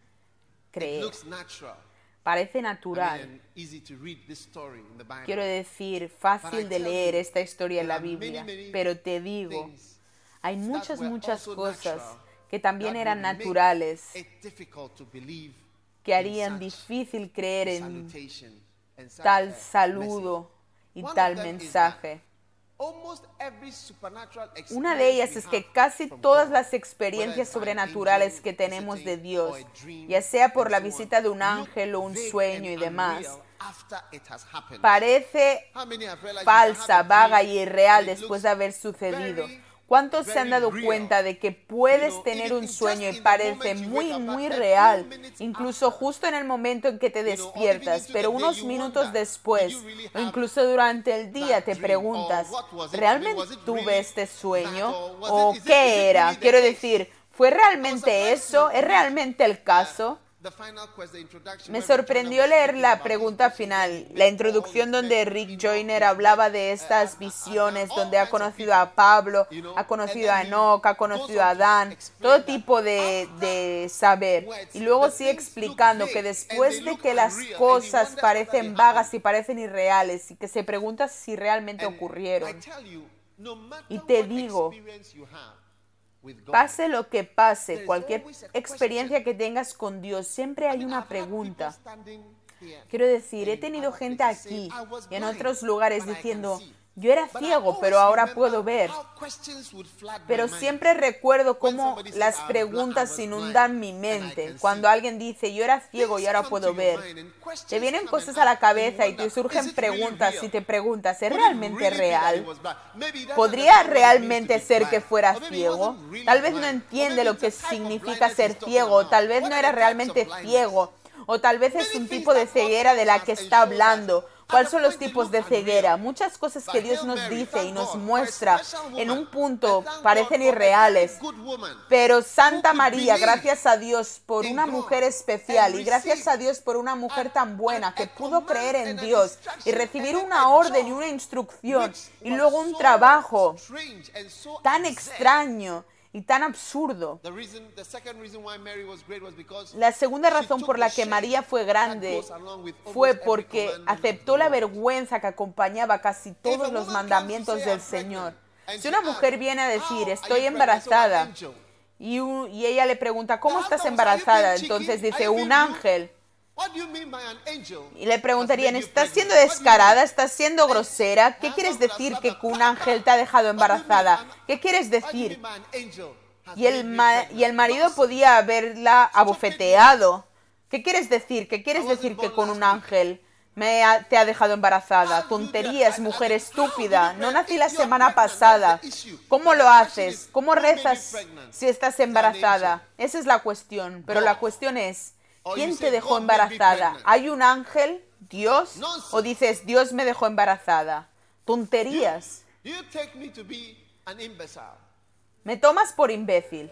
Speaker 2: creer.
Speaker 3: looks natural.
Speaker 2: Parece
Speaker 3: I
Speaker 2: natural.
Speaker 3: mean, easy to read this story in the Bible.
Speaker 2: Quiero decir, fácil de
Speaker 3: tell
Speaker 2: leer
Speaker 3: you,
Speaker 2: esta historia en la
Speaker 3: there are
Speaker 2: Biblia.
Speaker 3: many, many
Speaker 2: Pero te digo,
Speaker 3: things
Speaker 2: hay muchas,
Speaker 3: were
Speaker 2: muchas
Speaker 3: also
Speaker 2: cosas
Speaker 3: natural
Speaker 2: que también
Speaker 3: that
Speaker 2: eran
Speaker 3: would make
Speaker 2: naturales,
Speaker 3: it difficult to believe
Speaker 2: que
Speaker 3: in
Speaker 2: harían
Speaker 3: such
Speaker 2: difícil creer en
Speaker 3: salutation and such
Speaker 2: tal
Speaker 3: a
Speaker 2: saludo y
Speaker 3: One of
Speaker 2: tal
Speaker 3: them is
Speaker 2: mensaje.
Speaker 3: Almost every supernatural
Speaker 2: Una de ellas
Speaker 3: experience
Speaker 2: es
Speaker 3: we
Speaker 2: que
Speaker 3: have
Speaker 2: casi
Speaker 3: from
Speaker 2: todas
Speaker 3: God,
Speaker 2: las
Speaker 3: whether
Speaker 2: experiencias
Speaker 3: it's by an
Speaker 2: sobrenaturales
Speaker 3: angel
Speaker 2: que tenemos de
Speaker 3: visiting
Speaker 2: Dios,
Speaker 3: or a dream
Speaker 2: ya sea por
Speaker 3: and
Speaker 2: la
Speaker 3: so on,
Speaker 2: visita de un
Speaker 3: look
Speaker 2: ángel o un
Speaker 3: vague
Speaker 2: sueño y
Speaker 3: and
Speaker 2: demás,
Speaker 3: unreal after it has happened.
Speaker 2: parece
Speaker 3: How many have realized you can have
Speaker 2: falsa,
Speaker 3: a
Speaker 2: vaga
Speaker 3: dream
Speaker 2: y irreal
Speaker 3: and it
Speaker 2: después
Speaker 3: looks
Speaker 2: de haber sucedido?
Speaker 3: very,
Speaker 2: ¿Cuántos se han
Speaker 3: very
Speaker 2: dado
Speaker 3: real?
Speaker 2: cuenta de que
Speaker 3: You
Speaker 2: puedes
Speaker 3: know,
Speaker 2: tener
Speaker 3: even
Speaker 2: un
Speaker 3: just
Speaker 2: sueño y
Speaker 3: in the
Speaker 2: parece
Speaker 3: moment you
Speaker 2: muy,
Speaker 3: wake up,
Speaker 2: muy
Speaker 3: a few
Speaker 2: real,
Speaker 3: minutes
Speaker 2: incluso
Speaker 3: after,
Speaker 2: justo en el momento en que te
Speaker 3: you know, or even
Speaker 2: despiertas,
Speaker 3: into
Speaker 2: pero
Speaker 3: the day,
Speaker 2: unos
Speaker 3: you
Speaker 2: minutos
Speaker 3: wonder,
Speaker 2: después,
Speaker 3: did you really
Speaker 2: o
Speaker 3: have
Speaker 2: incluso durante el día
Speaker 3: that
Speaker 2: te
Speaker 3: dream?
Speaker 2: preguntas,
Speaker 3: Or what was it?
Speaker 2: ¿realmente
Speaker 3: Was it
Speaker 2: tuve
Speaker 3: really
Speaker 2: este
Speaker 3: that?
Speaker 2: sueño?
Speaker 3: Or was
Speaker 2: ¿O
Speaker 3: it- is it- is
Speaker 2: qué
Speaker 3: it
Speaker 2: era?
Speaker 3: really the
Speaker 2: Quiero
Speaker 3: case?
Speaker 2: decir, ¿fue realmente
Speaker 3: surprised
Speaker 2: eso?
Speaker 3: to
Speaker 2: ¿Es
Speaker 3: read,
Speaker 2: realmente el caso?
Speaker 3: The final quest, the introduction,
Speaker 2: Me
Speaker 3: when Rick
Speaker 2: sorprendió
Speaker 3: Joyner was
Speaker 2: leer
Speaker 3: speaking
Speaker 2: la
Speaker 3: about
Speaker 2: pregunta
Speaker 3: his visions,
Speaker 2: final,
Speaker 3: when he
Speaker 2: la
Speaker 3: met
Speaker 2: introducción
Speaker 3: Paul,
Speaker 2: donde
Speaker 3: he's met
Speaker 2: Rick
Speaker 3: Enoch,
Speaker 2: Joyner
Speaker 3: he's
Speaker 2: hablaba
Speaker 3: met,
Speaker 2: de
Speaker 3: uh,
Speaker 2: estas
Speaker 3: uh,
Speaker 2: visiones,
Speaker 3: all
Speaker 2: donde ha
Speaker 3: kinds of
Speaker 2: conocido
Speaker 3: people,
Speaker 2: a Pablo,
Speaker 3: you know,
Speaker 2: ha
Speaker 3: and
Speaker 2: conocido
Speaker 3: then
Speaker 2: a
Speaker 3: he
Speaker 2: Enoch, ha
Speaker 3: goes
Speaker 2: conocido
Speaker 3: on
Speaker 2: a
Speaker 3: to
Speaker 2: Adán,
Speaker 3: explain
Speaker 2: todo
Speaker 3: that
Speaker 2: tipo de,
Speaker 3: after
Speaker 2: de saber.
Speaker 3: words,
Speaker 2: Y luego
Speaker 3: the
Speaker 2: sigue
Speaker 3: things look
Speaker 2: explicando
Speaker 3: vague
Speaker 2: que
Speaker 3: and
Speaker 2: después
Speaker 3: they
Speaker 2: de
Speaker 3: look
Speaker 2: que las
Speaker 3: unreal, and he
Speaker 2: cosas
Speaker 3: wonders whether
Speaker 2: parecen
Speaker 3: they
Speaker 2: vagas
Speaker 3: happened.
Speaker 2: y parecen irreales y que se pregunta si realmente
Speaker 3: And I
Speaker 2: ocurrieron.
Speaker 3: tell you, no matter
Speaker 2: Y te
Speaker 3: what
Speaker 2: digo,
Speaker 3: experience you have with God,
Speaker 2: pase lo que pase,
Speaker 3: there is
Speaker 2: cualquier
Speaker 3: always a
Speaker 2: experiencia
Speaker 3: question.
Speaker 2: que tengas con Dios, siempre
Speaker 3: I
Speaker 2: hay
Speaker 3: mean,
Speaker 2: una
Speaker 3: I've had people
Speaker 2: pregunta.
Speaker 3: standing here
Speaker 2: Quiero decir, he
Speaker 3: in
Speaker 2: tenido
Speaker 3: other
Speaker 2: gente
Speaker 3: places
Speaker 2: aquí
Speaker 3: saying, "I was
Speaker 2: y en
Speaker 3: blind,
Speaker 2: otros lugares
Speaker 3: but I can
Speaker 2: diciendo,
Speaker 3: see."
Speaker 2: yo era
Speaker 3: But I
Speaker 2: ciego,
Speaker 3: always
Speaker 2: pero ahora
Speaker 3: remember
Speaker 2: puedo ver.
Speaker 3: how questions would flood my
Speaker 2: Pero
Speaker 3: mind.
Speaker 2: siempre recuerdo
Speaker 3: When
Speaker 2: cómo
Speaker 3: somebody says,
Speaker 2: las
Speaker 3: "I was
Speaker 2: preguntas
Speaker 3: blind, I was
Speaker 2: inundan mi
Speaker 3: blind, and I
Speaker 2: mente.
Speaker 3: can
Speaker 2: Cuando
Speaker 3: see."
Speaker 2: alguien dice, yo era ciego y
Speaker 3: Things
Speaker 2: ahora
Speaker 3: come
Speaker 2: puedo
Speaker 3: to your
Speaker 2: ver.
Speaker 3: mind and questions
Speaker 2: Te vienen
Speaker 3: come
Speaker 2: cosas
Speaker 3: and
Speaker 2: a la
Speaker 3: ask, and you
Speaker 2: cabeza y te
Speaker 3: wonder,
Speaker 2: surgen
Speaker 3: "Is it really
Speaker 2: preguntas
Speaker 3: real?
Speaker 2: y te preguntas, ¿es
Speaker 3: Could it
Speaker 2: realmente
Speaker 3: really be that he
Speaker 2: real?
Speaker 3: was blind? Maybe he doesn't
Speaker 2: ¿Podría
Speaker 3: understand what it means to
Speaker 2: realmente
Speaker 3: be
Speaker 2: ser que
Speaker 3: blind.
Speaker 2: fuera
Speaker 3: Or maybe he
Speaker 2: ciego?
Speaker 3: wasn't really
Speaker 2: Tal vez no
Speaker 3: blind. Or
Speaker 2: entiende
Speaker 3: maybe
Speaker 2: lo
Speaker 3: it's
Speaker 2: que
Speaker 3: a type of
Speaker 2: significa
Speaker 3: blindness
Speaker 2: ser
Speaker 3: he's talking
Speaker 2: ciego.
Speaker 3: about.
Speaker 2: Tal vez
Speaker 3: What
Speaker 2: no
Speaker 3: are
Speaker 2: era
Speaker 3: the types of
Speaker 2: realmente
Speaker 3: blindness?
Speaker 2: ciego. O tal vez es
Speaker 3: Many
Speaker 2: un
Speaker 3: things
Speaker 2: tipo de
Speaker 3: that God
Speaker 2: ceguera de la
Speaker 3: tells
Speaker 2: que
Speaker 3: us and
Speaker 2: está
Speaker 3: shows us
Speaker 2: hablando. ¿Cuáles son los tipos de ceguera? Muchas cosas que Dios nos dice y nos muestra en un punto parecen irreales. Pero Santa María, gracias a Dios por una mujer especial y gracias a Dios por una mujer tan buena que pudo creer en Dios y recibir una orden y una instrucción y luego un trabajo tan extraño y tan absurdo. La segunda razón por la que María fue grande fue porque aceptó la vergüenza que acompañaba casi todos los mandamientos del Señor. Si una mujer viene a decir, estoy embarazada, y, un, y ella le pregunta, ¿cómo estás embarazada? Entonces dice, un ángel. Y le preguntarían, ¿estás siendo descarada? ¿Estás siendo grosera? ¿Qué quieres decir que un ángel te ha dejado embarazada? ¿Qué quieres decir? Y el, ma y el marido podía haberla abofeteado. ¿Qué quieres decir? ¿Qué quieres decir que con un ángel me ha, te ha dejado embarazada? Tonterías, mujer estúpida. No nací la semana pasada. ¿Cómo lo haces? ¿Cómo rezas si estás embarazada? Esa es la cuestión. Pero la cuestión es, ¿quién te dejó embarazada? ¿Hay un ángel? ¿Dios? ¿O dices, Dios me dejó embarazada? Tonterías. Me tomas por imbécil.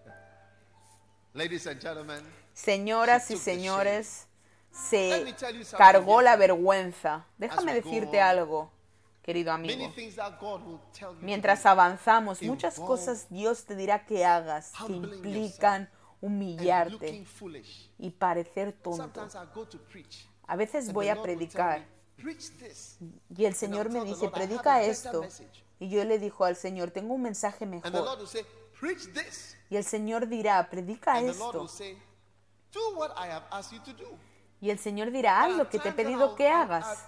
Speaker 2: Señoras y señores, se cargó la vergüenza. Déjame decirte algo, querido amigo. Mientras avanzamos, muchas cosas Dios te dirá que hagas que implican humillarte y parecer tonto. A veces voy a predicar y el Señor me dice, predica esto. Y yo le digo al Señor, tengo un mensaje mejor. Y el Señor dirá, predica esto. Y el Señor dirá, haz lo que te he pedido que hagas.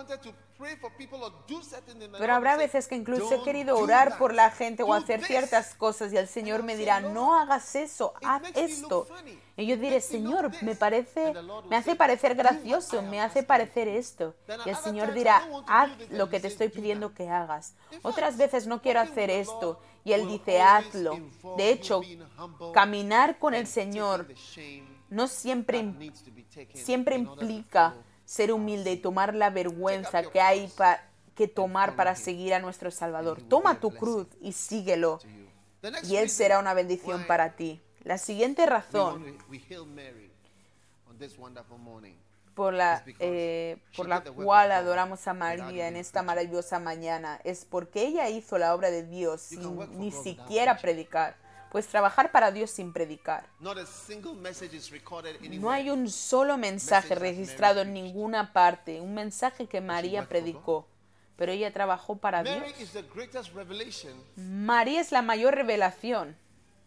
Speaker 2: Pero habrá veces que incluso he querido orar por la gente o hacer ciertas cosas y el Señor me dirá, no hagas eso, haz esto. Y yo diré, Señor, me parece, me hace parecer gracioso, me hace parecer esto. Y el Señor dirá, haz lo que te estoy pidiendo que hagas. Otras veces no quiero hacer esto y Él dice, hazlo. De hecho, caminar con el Señor no siempre, siempre implica ser humilde y tomar la vergüenza que hay pa, que tomar para seguir a nuestro Salvador. Toma tu cruz y síguelo, y Él será una bendición para ti. La siguiente razón por la, eh, por la cual adoramos a María en esta maravillosa mañana es porque ella hizo la obra de Dios sin ni siquiera predicar. Pues trabajar para Dios sin predicar. No hay un solo mensaje registrado en ninguna parte, un mensaje que María predicó, pero ella trabajó para Dios. María es la mayor revelación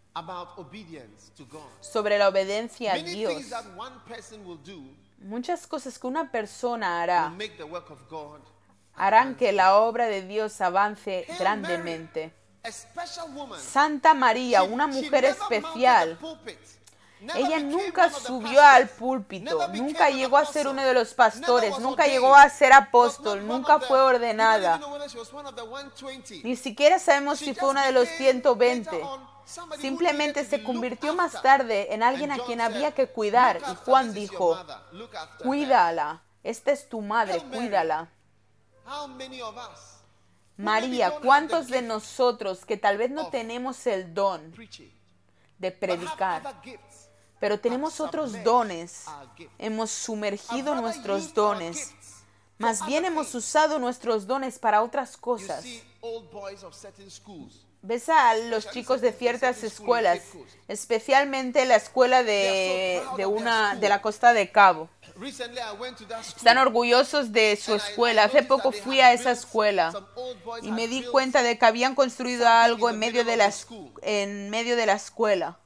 Speaker 2: sobre la obediencia a Dios. Muchas cosas que una persona hará harán que la obra de Dios avance grandemente. Santa María, una mujer especial, ella nunca subió al púlpito, nunca llegó a ser uno de los pastores, nunca llegó a ser apóstol, nunca fue ordenada. Ni siquiera sabemos si fue una de los ciento veinte. Simplemente se convirtió más tarde en alguien a quien había que cuidar. Y Juan dijo, cuídala, esta es tu madre, cuídala. María, ¿cuántos de nosotros que tal vez no tenemos el don de predicar, pero tenemos otros dones, hemos sumergido nuestros dones, más bien hemos usado nuestros dones para otras cosas? Ves a los chicos de ciertas escuelas, especialmente la escuela de, de, una, de la Costa de Cabo. Están orgullosos de su escuela. Hace poco fui a esa escuela y me di cuenta de que habían construido algo en medio de la, en medio de la escuela.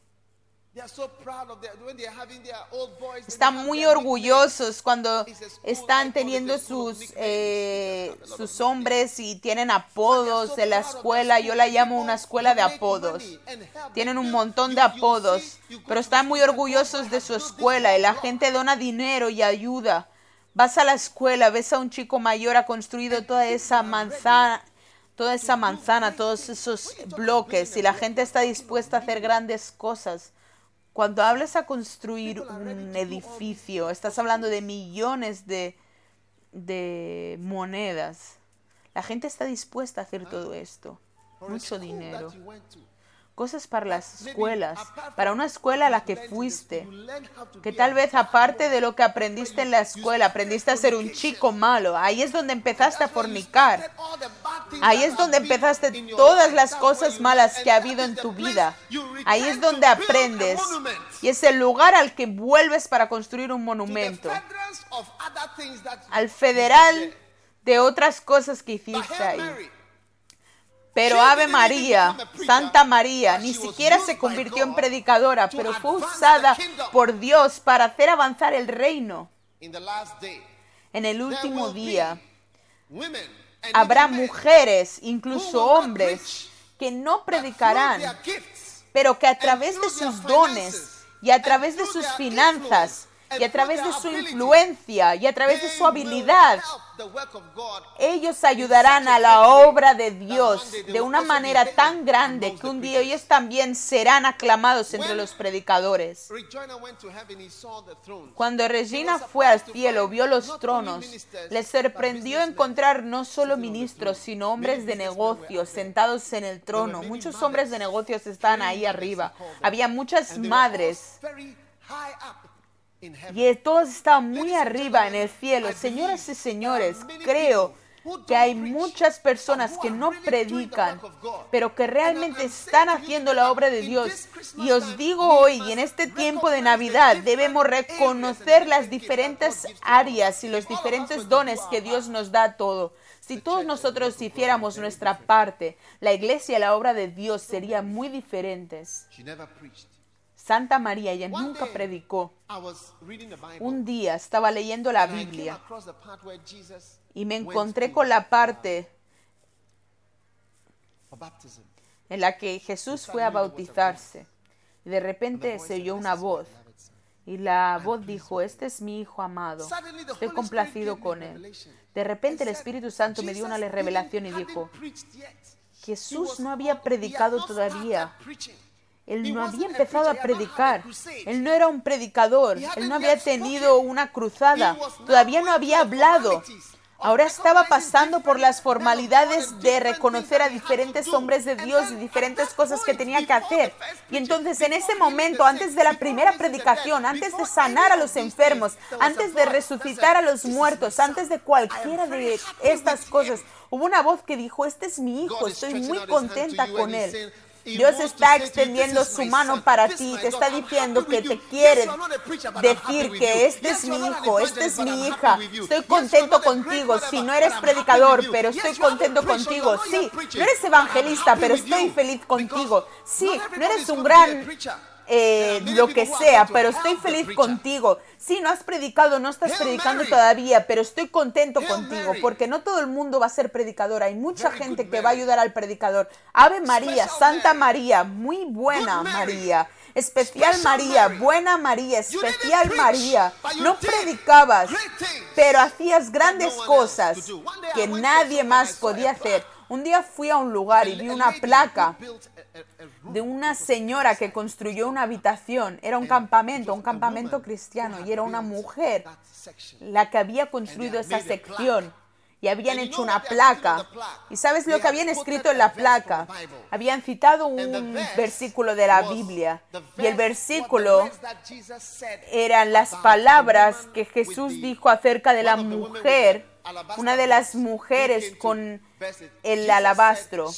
Speaker 2: Están muy orgullosos cuando están teniendo sus, eh, sus hombres y tienen apodos de la escuela. Yo la llamo una escuela de apodos. Tienen un montón de apodos, pero están muy orgullosos de su escuela y la gente dona dinero y ayuda. Vas a la escuela, ves a un chico mayor, ha construido toda esa manzana, toda esa manzana, todos esos bloques y la gente está dispuesta a hacer grandes cosas. Cuando hablas a construir un edificio, estás hablando de millones de, de monedas. La gente está dispuesta a hacer todo esto. Mucho dinero. Cosas para las escuelas, para una escuela a la que fuiste, que tal vez aparte de lo que aprendiste en la escuela, aprendiste a ser un chico malo. Ahí es donde empezaste a fornicar. Ahí es donde empezaste todas las cosas malas que ha habido en tu vida. Ahí es donde aprendes. Y es el lugar al que vuelves para construir un monumento. Al federal de otras cosas que hiciste ahí. Pero Ave María, Santa María, ni siquiera se convirtió en predicadora, pero fue usada por Dios para hacer avanzar el reino. En el último día, habrá mujeres, incluso hombres, que no predicarán, pero que a través de sus dones y a través de sus finanzas y a través de su influencia y a través de su habilidad, ellos ayudarán a la obra de Dios de una manera tan grande que un día ellos también serán aclamados entre los predicadores. Cuando Regina fue al cielo, vio los tronos, le sorprendió encontrar no solo ministros, sino hombres de negocios sentados en el trono. Muchos hombres de negocios estaban ahí arriba. Había muchas madres. Y todos estaban muy arriba en el cielo. Señoras y señores, creo que hay muchas personas que no predican, pero que realmente están haciendo la obra de Dios. Y os digo hoy, en este tiempo de Navidad, debemos reconocer las diferentes áreas y los diferentes dones que Dios nos da a todos. Si todos nosotros hiciéramos nuestra parte, la iglesia y la obra de Dios serían muy diferentes. Santa María, ella nunca predicó. Un día estaba leyendo la Biblia y me encontré con la parte en la que Jesús fue a bautizarse. Y de repente se oyó una voz y la voz dijo: este es mi Hijo amado, estoy complacido con él. De repente el Espíritu Santo me dio una revelación y dijo: Jesús no había predicado todavía. Él no había empezado a predicar. Él no era un predicador. Él no había tenido una cruzada. Todavía no había hablado. Ahora estaba pasando por las formalidades de reconocer a diferentes hombres de Dios y diferentes cosas que tenía que hacer. Y entonces en ese momento, antes de la primera predicación, antes de sanar a los enfermos, antes de resucitar a los muertos, antes de cualquiera de estas cosas, hubo una voz que dijo: este es mi Hijo, estoy muy contenta con él. Dios está extendiendo su mano para ti, te está diciendo que te quiere decir que este es mi hijo, esta es mi hija, estoy contento contigo. Si no eres predicador, pero estoy contento contigo. Sí, no eres evangelista, pero estoy feliz contigo. Sí, no eres un gran eh, lo que sea, pero estoy feliz contigo. Sí, no has predicado, no estás predicando todavía, pero estoy contento contigo, porque no todo el mundo va a ser predicador. Hay mucha gente que va a ayudar al predicador. Ave María, Santa María, muy buena María, especial María, buena María, especial María. No predicabas, pero hacías grandes cosas que nadie más podía hacer. Un día fui a un lugar y vi una placa de una señora que construyó una habitación. Era un campamento, un campamento cristiano, y era una mujer la que había construido esa sección. Y habían hecho una placa. ¿Y sabes lo que habían escrito en la placa? Habían citado un versículo de la Biblia. Y el versículo eran las palabras que Jesús dijo acerca de la mujer, una de las mujeres con el alabastro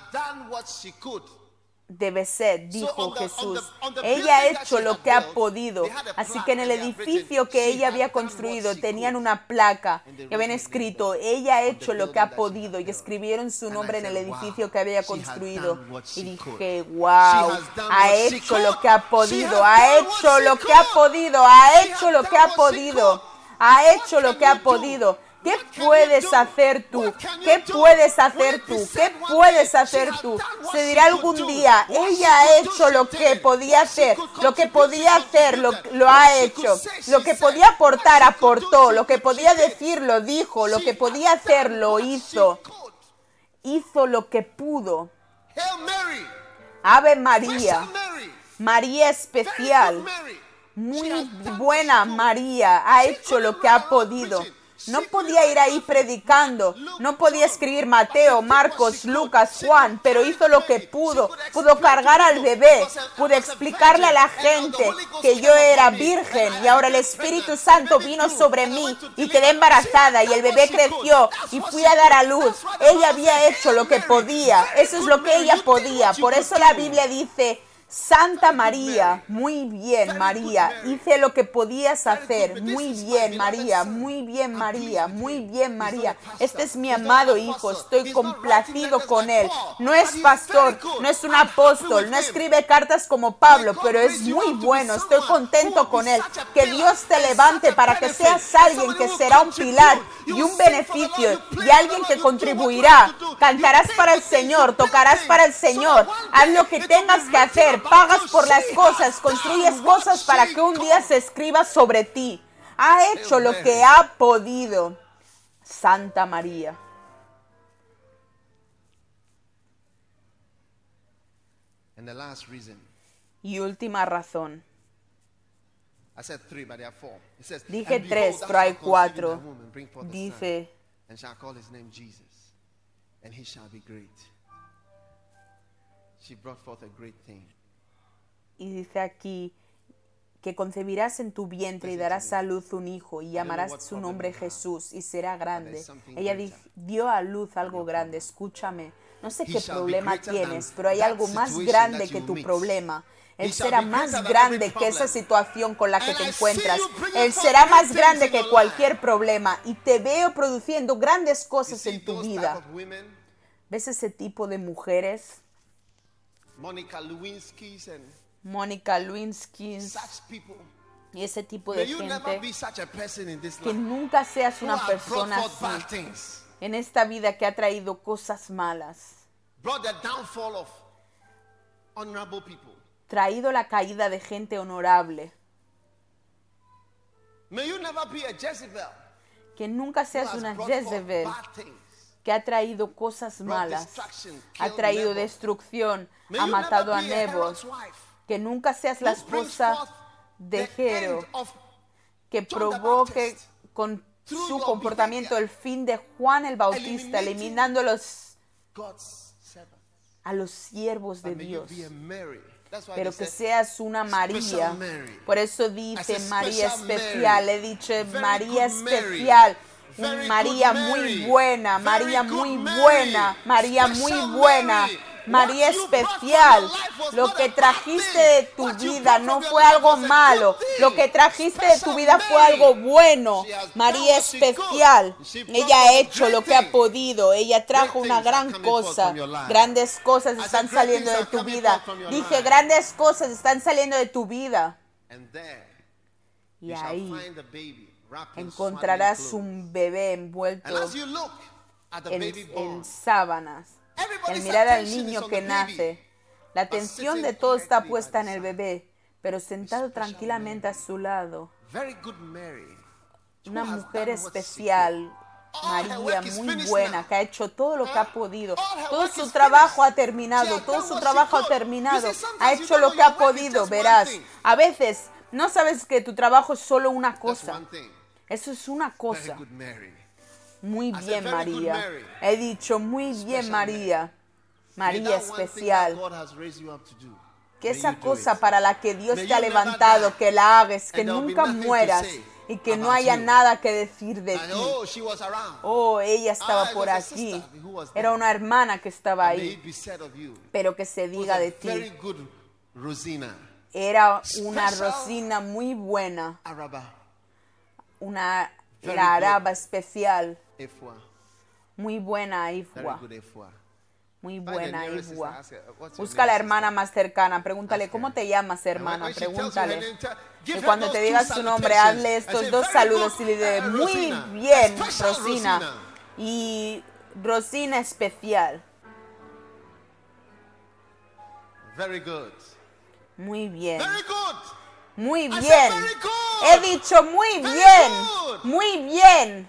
Speaker 2: de Beset, dijo Jesús. Ella ha hecho lo que ha podido. Así que en el edificio que ella había construido tenían una placa y habían escrito: ella ha hecho lo que ha podido, y escribieron su nombre en el edificio que había construido. Y dije: wow, ha hecho lo que ha podido, ha hecho lo que ha podido, ha hecho lo que ha podido, ha hecho lo que ha podido. ¿Qué puedes hacer tú? ¿Qué puedes hacer tú? ¿Qué puedes hacer tú? Se dirá algún día: ella ha hecho lo que podía hacer, lo que podía hacer, lo, lo ha hecho, lo que podía aportar, aportó, lo que podía decir, lo dijo, lo que podía hacer, lo hizo. Hizo lo que pudo. Ave María, María especial, muy buena María, ha hecho lo que ha podido. No podía ir ahí predicando, no podía escribir Mateo, Marcos, Lucas, Juan, pero hizo lo que pudo. Pudo cargar al bebé, pudo explicarle a la gente que yo era virgen y ahora el Espíritu Santo vino sobre mí y quedé embarazada y el bebé creció y fui a dar a luz. Ella había hecho lo que podía, eso es lo que ella podía. Por eso la Biblia dice: Santa María, muy bien María, hice lo que podías hacer, muy bien María, muy bien María, muy bien María. Este es mi amado hijo, estoy complacido con él. No es pastor, no es un apóstol, no escribe cartas como Pablo, pero es muy bueno, estoy contento con él. Que Dios te levante para que seas alguien que será un pilar y un beneficio y alguien que contribuirá. Cantarás para el Señor, tocarás para el Señor, haz lo que tengas que hacer. Pagas por las cosas, construyes cosas para que un día se escriba sobre ti. Ha hecho lo que ha podido. Santa María. Y última razón. Dije tres, pero hay cuatro. Dice: y dice aquí que concebirás en tu vientre y darás a luz un hijo y llamarás su nombre Jesús y será grande. Ella di- dio a luz algo grande. Escúchame, no sé qué problema tienes, pero hay algo más grande que tu problema. Él será más grande que esa situación con la que te encuentras. Él será más grande que cualquier problema y te veo produciendo grandes cosas en tu vida. ¿Ves ese tipo de mujeres?
Speaker 3: Monica Lewinsky's and
Speaker 2: Mónica Lewinsky
Speaker 3: such people.
Speaker 2: Y ese tipo de
Speaker 3: May you never
Speaker 2: gente.
Speaker 3: be such a person in this
Speaker 2: Que
Speaker 3: life
Speaker 2: nunca seas
Speaker 3: who
Speaker 2: una
Speaker 3: have
Speaker 2: persona
Speaker 3: brought forth bad
Speaker 2: así
Speaker 3: things,
Speaker 2: en esta vida que ha traído cosas malas,
Speaker 3: brought the downfall of honorable people.
Speaker 2: traído la caída de gente honorable.
Speaker 3: May you never be a Jezebel
Speaker 2: Que nunca
Speaker 3: who
Speaker 2: seas
Speaker 3: has
Speaker 2: una
Speaker 3: brought forth
Speaker 2: Jezebel
Speaker 3: bad things.
Speaker 2: que ha traído cosas
Speaker 3: Brought
Speaker 2: malas,
Speaker 3: destruction,
Speaker 2: ha
Speaker 3: killed
Speaker 2: traído
Speaker 3: Nebo.
Speaker 2: destrucción,
Speaker 3: May
Speaker 2: ha
Speaker 3: you
Speaker 2: matado a
Speaker 3: never be a
Speaker 2: Nebo.
Speaker 3: Herod's wife
Speaker 2: Que nunca seas la
Speaker 3: who brings
Speaker 2: esposa
Speaker 3: forth
Speaker 2: de
Speaker 3: the
Speaker 2: Jero,
Speaker 3: end of
Speaker 2: que
Speaker 3: John the
Speaker 2: provoque
Speaker 3: Baptist
Speaker 2: con
Speaker 3: through
Speaker 2: su
Speaker 3: your
Speaker 2: comportamiento
Speaker 3: behavior,
Speaker 2: el fin de Juan el Bautista,
Speaker 3: eliminating
Speaker 2: eliminando los,
Speaker 3: God's servants.
Speaker 2: a los siervos de
Speaker 3: But may you
Speaker 2: Dios.
Speaker 3: be a Mary. That's why
Speaker 2: Pero
Speaker 3: they
Speaker 2: que
Speaker 3: said,
Speaker 2: seas una María.
Speaker 3: special Mary.
Speaker 2: Por eso
Speaker 3: As
Speaker 2: dice
Speaker 3: a
Speaker 2: María
Speaker 3: special
Speaker 2: especial.
Speaker 3: Mary.
Speaker 2: He dicho
Speaker 3: Very
Speaker 2: María
Speaker 3: good Mary.
Speaker 2: especial.
Speaker 3: Very
Speaker 2: María
Speaker 3: good
Speaker 2: muy
Speaker 3: Mary.
Speaker 2: buena,
Speaker 3: Very
Speaker 2: María
Speaker 3: good
Speaker 2: muy
Speaker 3: Mary.
Speaker 2: buena, María muy
Speaker 3: Special
Speaker 2: buena,
Speaker 3: Mary.
Speaker 2: María
Speaker 3: What you brought
Speaker 2: especial.
Speaker 3: from your life was
Speaker 2: Lo
Speaker 3: not
Speaker 2: que
Speaker 3: a bad
Speaker 2: trajiste
Speaker 3: thing.
Speaker 2: de tu
Speaker 3: What you
Speaker 2: vida
Speaker 3: brought
Speaker 2: no
Speaker 3: from your
Speaker 2: fue
Speaker 3: life
Speaker 2: algo
Speaker 3: was a good
Speaker 2: malo.
Speaker 3: thing.
Speaker 2: Lo que trajiste de tu
Speaker 3: Special
Speaker 2: vida fue
Speaker 3: Mary.
Speaker 2: algo bueno.
Speaker 3: She has
Speaker 2: María
Speaker 3: done what she
Speaker 2: especial.
Speaker 3: could. She brought
Speaker 2: Ella ha
Speaker 3: forth
Speaker 2: hecho
Speaker 3: great
Speaker 2: lo que ha
Speaker 3: things.
Speaker 2: podido. Ella trajo
Speaker 3: Great
Speaker 2: una
Speaker 3: things are
Speaker 2: gran
Speaker 3: coming forth
Speaker 2: cosa.
Speaker 3: from your life.
Speaker 2: Grandes cosas
Speaker 3: I said,
Speaker 2: están
Speaker 3: great
Speaker 2: saliendo
Speaker 3: things
Speaker 2: de
Speaker 3: are
Speaker 2: tu
Speaker 3: coming
Speaker 2: vida.
Speaker 3: forth from your
Speaker 2: Dije,
Speaker 3: life.
Speaker 2: grandes cosas están saliendo de tu vida.
Speaker 3: And there
Speaker 2: Y
Speaker 3: you shall
Speaker 2: ahí
Speaker 3: find the baby wrapped in
Speaker 2: encontrarás
Speaker 3: swaddling clothes.
Speaker 2: un bebé
Speaker 3: And
Speaker 2: envuelto
Speaker 3: as you look at the
Speaker 2: en,
Speaker 3: baby born,
Speaker 2: en sábanas. Al
Speaker 3: everybody's
Speaker 2: mirar al
Speaker 3: attention is
Speaker 2: niño
Speaker 3: on
Speaker 2: que
Speaker 3: the baby.
Speaker 2: nace, la atención de todo está puesta en el bebé, pero sentado tranquilamente a su lado,
Speaker 3: Very good Mary. who
Speaker 2: una
Speaker 3: has
Speaker 2: mujer
Speaker 3: done what she
Speaker 2: especial,
Speaker 3: could. All her
Speaker 2: María,
Speaker 3: work is
Speaker 2: muy
Speaker 3: finished
Speaker 2: buena,
Speaker 3: now.
Speaker 2: que ha hecho todo lo que ha podido.
Speaker 3: All her
Speaker 2: Todo
Speaker 3: work
Speaker 2: su
Speaker 3: is
Speaker 2: trabajo
Speaker 3: finished.
Speaker 2: ha terminado,
Speaker 3: She has
Speaker 2: todo
Speaker 3: done
Speaker 2: su
Speaker 3: what
Speaker 2: trabajo
Speaker 3: she
Speaker 2: ha
Speaker 3: could.
Speaker 2: terminado.
Speaker 3: You see, sometimes
Speaker 2: Ha
Speaker 3: you
Speaker 2: hecho
Speaker 3: don't
Speaker 2: lo
Speaker 3: know
Speaker 2: que ha
Speaker 3: your work is
Speaker 2: podido,
Speaker 3: just one
Speaker 2: verás.
Speaker 3: thing.
Speaker 2: A veces no sabes que tu trabajo es solo una
Speaker 3: That's
Speaker 2: cosa.
Speaker 3: one thing.
Speaker 2: Eso es una
Speaker 3: Very
Speaker 2: cosa.
Speaker 3: good Mary.
Speaker 2: Muy
Speaker 3: said,
Speaker 2: bien,
Speaker 3: very good
Speaker 2: María.
Speaker 3: Mary.
Speaker 2: He dicho, muy
Speaker 3: Special
Speaker 2: bien, María.
Speaker 3: May
Speaker 2: María
Speaker 3: that one thing
Speaker 2: especial.
Speaker 3: that God has raised you up to do,
Speaker 2: Que
Speaker 3: may
Speaker 2: esa
Speaker 3: you do
Speaker 2: cosa
Speaker 3: it.
Speaker 2: para la que Dios
Speaker 3: May
Speaker 2: te ha
Speaker 3: you never
Speaker 2: levantado,
Speaker 3: die.
Speaker 2: que la hagas, que
Speaker 3: And there will be
Speaker 2: nunca
Speaker 3: nothing to
Speaker 2: mueras
Speaker 3: say
Speaker 2: y que no
Speaker 3: about
Speaker 2: haya
Speaker 3: you.
Speaker 2: nada que decir de
Speaker 3: And,
Speaker 2: ti.
Speaker 3: oh, she was around.
Speaker 2: Oh, ella estaba
Speaker 3: Ah, it
Speaker 2: por
Speaker 3: was a
Speaker 2: aquí.
Speaker 3: sister who was
Speaker 2: Era
Speaker 3: there.
Speaker 2: una hermana que estaba
Speaker 3: And may
Speaker 2: ahí.
Speaker 3: it be said of you,
Speaker 2: Pero que se
Speaker 3: was
Speaker 2: diga
Speaker 3: a
Speaker 2: de
Speaker 3: very
Speaker 2: ti.
Speaker 3: good Rosina.
Speaker 2: Era una
Speaker 3: Special
Speaker 2: Rosina muy buena.
Speaker 3: Araba.
Speaker 2: Una
Speaker 3: Very
Speaker 2: la
Speaker 3: good.
Speaker 2: araba especial.
Speaker 3: Efua.
Speaker 2: Muy buena
Speaker 3: Very
Speaker 2: Ifua.
Speaker 3: good Efua.
Speaker 2: Muy
Speaker 3: Find the
Speaker 2: buena
Speaker 3: nearest
Speaker 2: Ifua.
Speaker 3: sister, ask her, "What's your
Speaker 2: Busca a la
Speaker 3: name,
Speaker 2: hermana
Speaker 3: sister?"
Speaker 2: más cercana. Pregúntale,
Speaker 3: Ask
Speaker 2: ¿cómo
Speaker 3: her.
Speaker 2: te llamas,
Speaker 3: And when-
Speaker 2: hermana?
Speaker 3: when she tells you her
Speaker 2: Pregúntale.
Speaker 3: name, tell- give
Speaker 2: Y
Speaker 3: her
Speaker 2: cuando
Speaker 3: those
Speaker 2: te
Speaker 3: two
Speaker 2: diga su nombre,
Speaker 3: salutations
Speaker 2: hazle
Speaker 3: and
Speaker 2: estos
Speaker 3: say,
Speaker 2: dos
Speaker 3: "Very
Speaker 2: saludos
Speaker 3: good,
Speaker 2: y le diré,
Speaker 3: uh,
Speaker 2: muy
Speaker 3: Rosina.
Speaker 2: bien,
Speaker 3: Special
Speaker 2: Rosina.
Speaker 3: Rosina."
Speaker 2: Y Rosina especial.
Speaker 3: Very good.
Speaker 2: Muy bien.
Speaker 3: Very good.
Speaker 2: Muy
Speaker 3: I
Speaker 2: bien.
Speaker 3: said very good.
Speaker 2: He dicho muy
Speaker 3: Very
Speaker 2: bien.
Speaker 3: good.
Speaker 2: Muy bien.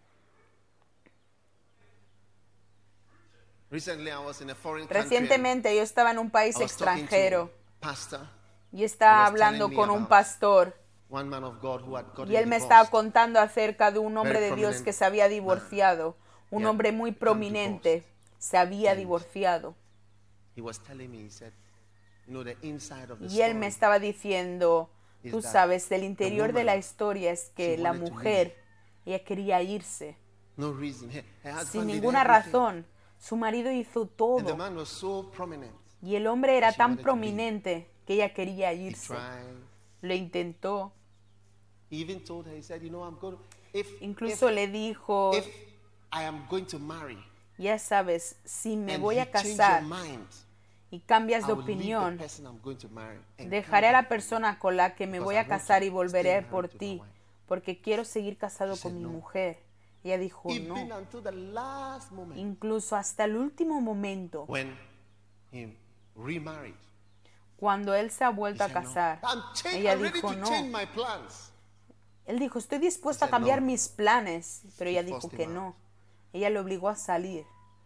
Speaker 3: Recently, I was in a foreign country. and
Speaker 2: Recientemente yo estaba en un país
Speaker 3: I was talking to
Speaker 2: extranjero
Speaker 3: a pastor.
Speaker 2: y estaba
Speaker 3: He was
Speaker 2: hablando
Speaker 3: telling me
Speaker 2: con un
Speaker 3: about
Speaker 2: pastor
Speaker 3: one man of God who had gotten
Speaker 2: Y él me
Speaker 3: divorced.
Speaker 2: estaba contando acerca de un hombre
Speaker 3: Very
Speaker 2: de Dios
Speaker 3: prominent
Speaker 2: que se había divorciado. Un
Speaker 3: Yeah,
Speaker 2: hombre muy
Speaker 3: become
Speaker 2: prominente
Speaker 3: divorced.
Speaker 2: se había
Speaker 3: And
Speaker 2: divorciado.
Speaker 3: He was telling me, he said, you know, the inside of the
Speaker 2: Y él me
Speaker 3: story,
Speaker 2: estaba diciendo,
Speaker 3: is
Speaker 2: tú
Speaker 3: that
Speaker 2: sabes, del
Speaker 3: the
Speaker 2: interior de la
Speaker 3: woman,
Speaker 2: historia es que
Speaker 3: she
Speaker 2: la
Speaker 3: wanted to
Speaker 2: mujer, ella quería irse,
Speaker 3: no reason. Her, her husband
Speaker 2: sin
Speaker 3: did
Speaker 2: ninguna
Speaker 3: everything.
Speaker 2: razón. Su marido hizo
Speaker 3: And the
Speaker 2: todo.
Speaker 3: man was so prominent.
Speaker 2: Y el hombre era
Speaker 3: she
Speaker 2: tan
Speaker 3: wanted to leave.
Speaker 2: prominente que ella quería
Speaker 3: He
Speaker 2: irse.
Speaker 3: tried.
Speaker 2: Lo intentó.
Speaker 3: He even told her, he said, you know, I'm going to, if,
Speaker 2: Incluso
Speaker 3: if,
Speaker 2: le dijo,
Speaker 3: if I am going to marry,
Speaker 2: ya sabes, si me
Speaker 3: and
Speaker 2: voy
Speaker 3: you
Speaker 2: a
Speaker 3: change
Speaker 2: casar
Speaker 3: your mind,
Speaker 2: y cambias de
Speaker 3: I will leave the
Speaker 2: opinión,
Speaker 3: person I'm going to marry and
Speaker 2: dejaré a
Speaker 3: come
Speaker 2: la
Speaker 3: back.
Speaker 2: persona con la que me
Speaker 3: Because
Speaker 2: voy
Speaker 3: I
Speaker 2: a
Speaker 3: want to
Speaker 2: casar y
Speaker 3: stay
Speaker 2: volveré
Speaker 3: married
Speaker 2: por
Speaker 3: to my
Speaker 2: ti,
Speaker 3: wife.
Speaker 2: porque quiero seguir casado
Speaker 3: She
Speaker 2: con
Speaker 3: said
Speaker 2: mi
Speaker 3: no.
Speaker 2: mujer. Ella dijo
Speaker 3: Even
Speaker 2: no.
Speaker 3: until the last moment,
Speaker 2: Incluso hasta el último momento,
Speaker 3: when he remarried,
Speaker 2: cuando él se ha
Speaker 3: he
Speaker 2: vuelto a
Speaker 3: said, no.
Speaker 2: casar,
Speaker 3: I'm, cha-
Speaker 2: ella
Speaker 3: I'm ready
Speaker 2: dijo
Speaker 3: to
Speaker 2: no.
Speaker 3: change my plans.
Speaker 2: Él dijo, estoy dispuesto a
Speaker 3: He said
Speaker 2: cambiar
Speaker 3: no.
Speaker 2: mis planes, pero ella
Speaker 3: She
Speaker 2: dijo
Speaker 3: forced
Speaker 2: que
Speaker 3: him
Speaker 2: no.
Speaker 3: out.
Speaker 2: Ella le obligó a salir.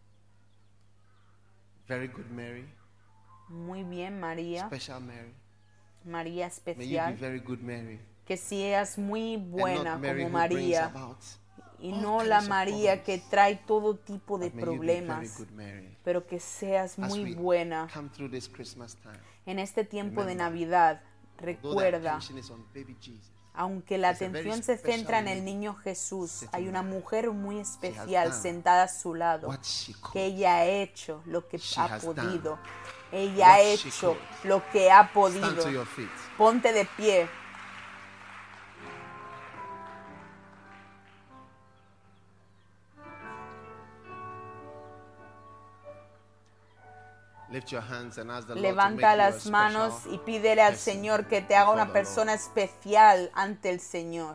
Speaker 3: Very good Mary,
Speaker 2: Muy bien, María.
Speaker 3: special Mary.
Speaker 2: María
Speaker 3: May you be
Speaker 2: especial.
Speaker 3: very good Mary.
Speaker 2: Que seas muy
Speaker 3: And
Speaker 2: buena
Speaker 3: not Mary
Speaker 2: como
Speaker 3: who brings
Speaker 2: María.
Speaker 3: about
Speaker 2: Y
Speaker 3: all
Speaker 2: no la
Speaker 3: kinds of
Speaker 2: María que
Speaker 3: problems.
Speaker 2: trae todo tipo de
Speaker 3: But may you be very
Speaker 2: problemas,
Speaker 3: good Mary.
Speaker 2: pero que seas
Speaker 3: As
Speaker 2: muy
Speaker 3: we
Speaker 2: buena.
Speaker 3: come through this Christmas time,
Speaker 2: En este tiempo de
Speaker 3: remember,
Speaker 2: Navidad,
Speaker 3: though the
Speaker 2: recuerda,
Speaker 3: attention is on baby Jesus,
Speaker 2: aunque la
Speaker 3: there's a very
Speaker 2: atención se centra en
Speaker 3: special
Speaker 2: el
Speaker 3: lady
Speaker 2: niño Jesús,
Speaker 3: sitting
Speaker 2: hay una
Speaker 3: there.
Speaker 2: mujer muy
Speaker 3: has
Speaker 2: especial
Speaker 3: done
Speaker 2: sentada a su lado,
Speaker 3: what she could.
Speaker 2: que ella ha hecho lo que
Speaker 3: She
Speaker 2: ha
Speaker 3: has
Speaker 2: podido.
Speaker 3: done
Speaker 2: Ella ha
Speaker 3: what she
Speaker 2: hecho
Speaker 3: could.
Speaker 2: lo que ha
Speaker 3: Stand
Speaker 2: podido.
Speaker 3: to your feet.
Speaker 2: Ponte de pie.
Speaker 3: Lift your hands and ask the Lord
Speaker 2: Levanta
Speaker 3: to make you a
Speaker 2: las manos
Speaker 3: special
Speaker 2: y pídele al
Speaker 3: person
Speaker 2: Señor que te haga
Speaker 3: before
Speaker 2: una
Speaker 3: the
Speaker 2: persona
Speaker 3: Lord.
Speaker 2: especial ante el Señor.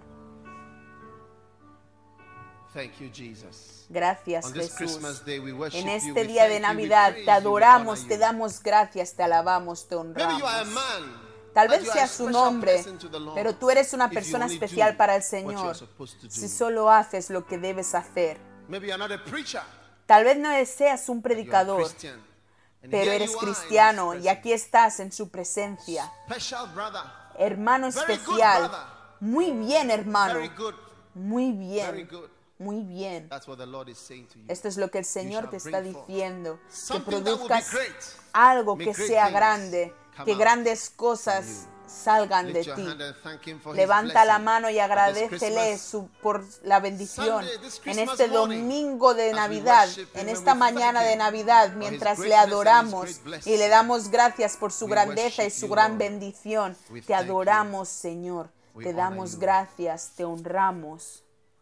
Speaker 3: Thank you, Jesus.
Speaker 2: Gracias,
Speaker 3: On this
Speaker 2: Jesús.
Speaker 3: Christmas day, we worship
Speaker 2: En
Speaker 3: you,
Speaker 2: este
Speaker 3: we
Speaker 2: día
Speaker 3: thank
Speaker 2: de
Speaker 3: you, we
Speaker 2: Navidad
Speaker 3: praise
Speaker 2: te
Speaker 3: you, we
Speaker 2: adoramos,
Speaker 3: honor
Speaker 2: te
Speaker 3: you.
Speaker 2: damos gracias, te alabamos, te
Speaker 3: Maybe you are a
Speaker 2: honramos.
Speaker 3: man,
Speaker 2: Tal
Speaker 3: but
Speaker 2: vez
Speaker 3: you are a
Speaker 2: seas un
Speaker 3: special
Speaker 2: hombre,
Speaker 3: person to the Lord
Speaker 2: pero tú eres una
Speaker 3: if you
Speaker 2: persona
Speaker 3: only
Speaker 2: especial
Speaker 3: do
Speaker 2: para el
Speaker 3: what you are
Speaker 2: Señor
Speaker 3: supposed to do.
Speaker 2: si solo haces lo que debes hacer.
Speaker 3: Maybe you are not a preacher,
Speaker 2: Tal vez no seas un
Speaker 3: but you are a
Speaker 2: predicador,
Speaker 3: Christian. And
Speaker 2: pero
Speaker 3: here
Speaker 2: eres
Speaker 3: you are in
Speaker 2: cristiano
Speaker 3: His
Speaker 2: y aquí estás en su presencia.
Speaker 3: presence. Special brother,
Speaker 2: Hermano
Speaker 3: Very good,
Speaker 2: especial.
Speaker 3: brother.
Speaker 2: Muy bien, hermano.
Speaker 3: very good,
Speaker 2: Muy
Speaker 3: very
Speaker 2: bien.
Speaker 3: good.
Speaker 2: Muy bien.
Speaker 3: That's what the Lord is saying to you.
Speaker 2: Esto es lo que el Señor
Speaker 3: shall
Speaker 2: te está
Speaker 3: bring forth
Speaker 2: diciendo. Que
Speaker 3: something that will be
Speaker 2: produzcas
Speaker 3: great.
Speaker 2: algo
Speaker 3: May
Speaker 2: que
Speaker 3: great
Speaker 2: sea
Speaker 3: things
Speaker 2: grande,
Speaker 3: come
Speaker 2: que
Speaker 3: out
Speaker 2: grandes cosas
Speaker 3: from
Speaker 2: salgan de
Speaker 3: Lift your
Speaker 2: ti.
Speaker 3: hand and thank Him for His
Speaker 2: Levanta la
Speaker 3: blessing
Speaker 2: mano y
Speaker 3: at this
Speaker 2: agradécele
Speaker 3: Christmas.
Speaker 2: su- por la bendición
Speaker 3: Sunday, this
Speaker 2: en
Speaker 3: Christmas
Speaker 2: este
Speaker 3: morning,
Speaker 2: domingo de
Speaker 3: as we
Speaker 2: Navidad,
Speaker 3: worship Him
Speaker 2: en
Speaker 3: and
Speaker 2: esta
Speaker 3: we
Speaker 2: mañana
Speaker 3: thank
Speaker 2: de
Speaker 3: Him
Speaker 2: Navidad,
Speaker 3: for His
Speaker 2: mientras le
Speaker 3: greatness and His
Speaker 2: adoramos
Speaker 3: great blessing.
Speaker 2: y le damos gracias por su
Speaker 3: We
Speaker 2: grandeza y
Speaker 3: worship
Speaker 2: su
Speaker 3: you,
Speaker 2: gran
Speaker 3: Lord.
Speaker 2: bendición.
Speaker 3: We
Speaker 2: Te
Speaker 3: thank you.
Speaker 2: adoramos, Señor.
Speaker 3: We
Speaker 2: Te
Speaker 3: honor
Speaker 2: damos
Speaker 3: you.
Speaker 2: gracias, te honramos.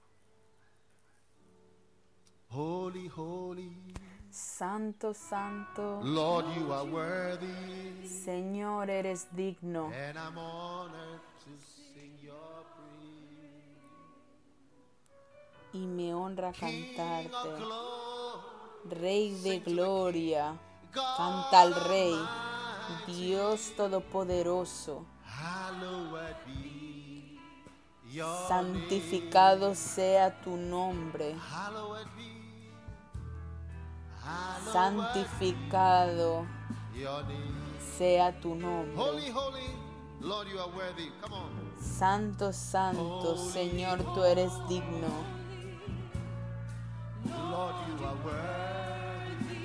Speaker 3: Holy, holy,
Speaker 2: Santo, santo,
Speaker 3: Lord, you are worthy,
Speaker 2: Señor, eres digno.
Speaker 3: and I'm honored to sing your praise.
Speaker 2: Y me honra
Speaker 3: King of
Speaker 2: cantarte.
Speaker 3: glory,
Speaker 2: Rey de
Speaker 3: sing to the
Speaker 2: gloria,
Speaker 3: God
Speaker 2: canta al Rey,
Speaker 3: Almighty,
Speaker 2: Dios Todopoderoso.
Speaker 3: hallowed be your
Speaker 2: Santificado sea tu nombre,
Speaker 3: name. Hallowed be, hallowed
Speaker 2: santificado
Speaker 3: be your name.
Speaker 2: sea tu nombre.
Speaker 3: Holy, holy, Lord, you are worthy. Come on.
Speaker 2: Santo, santo, Señor, tú eres digno.
Speaker 3: Lord, you are worthy,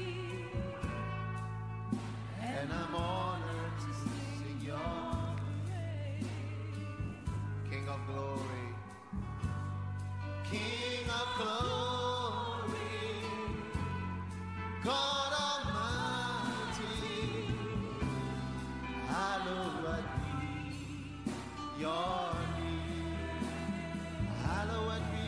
Speaker 3: and I'm honored to sing your name. King of glory, King of glory, God Almighty, hallowed be your name, hallowed be.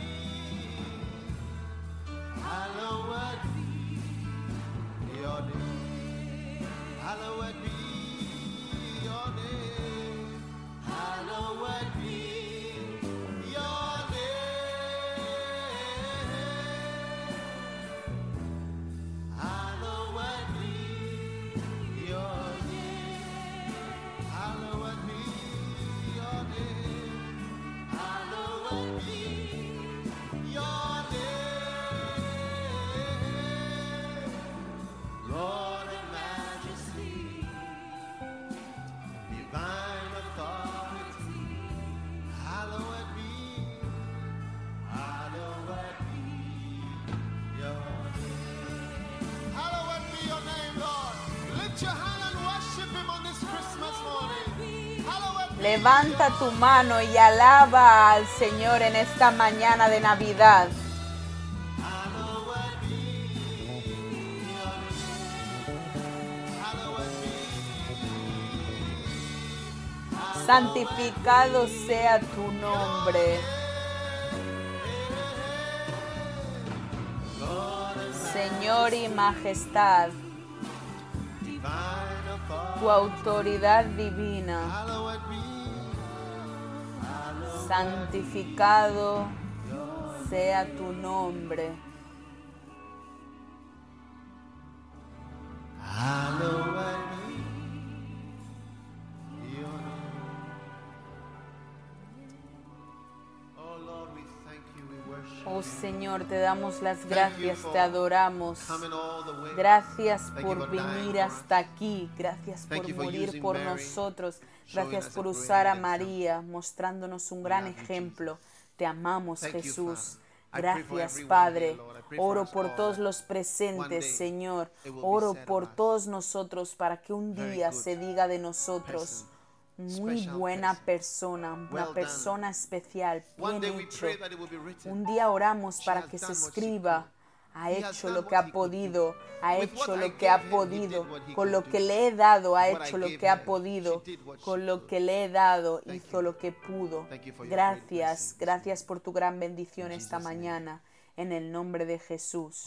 Speaker 3: Hallowed be your name. Hallowed be your name. Hallowed be your name. Hallowed be your name. Hallowed be your name. Hallowed be your name. Lord in majesty,
Speaker 2: Levanta tu mano y alaba al Señor en esta mañana de Navidad. Santificado sea tu nombre. Señor y majestad, tu autoridad divina, santificado sea tu nombre. Oh Señor, te damos las gracias, te adoramos. Gracias por venir hasta aquí. Gracias por morir por nosotros. Gracias por usar a María, mostrándonos un gran ejemplo. Te amamos, Jesús. Gracias, Padre. Oro por todos los presentes, Señor. Oro por todos nosotros para que un día se diga de nosotros: muy buena persona, una persona especial, bien hecho. Un día oramos para que se escriba: ha hecho lo que ha podido, ha hecho lo que ha podido, con lo que le he dado ha hecho lo que ha podido, con lo que le he dado hizo lo que pudo. Gracias, gracias por tu gran bendición esta mañana, en el nombre de Jesús.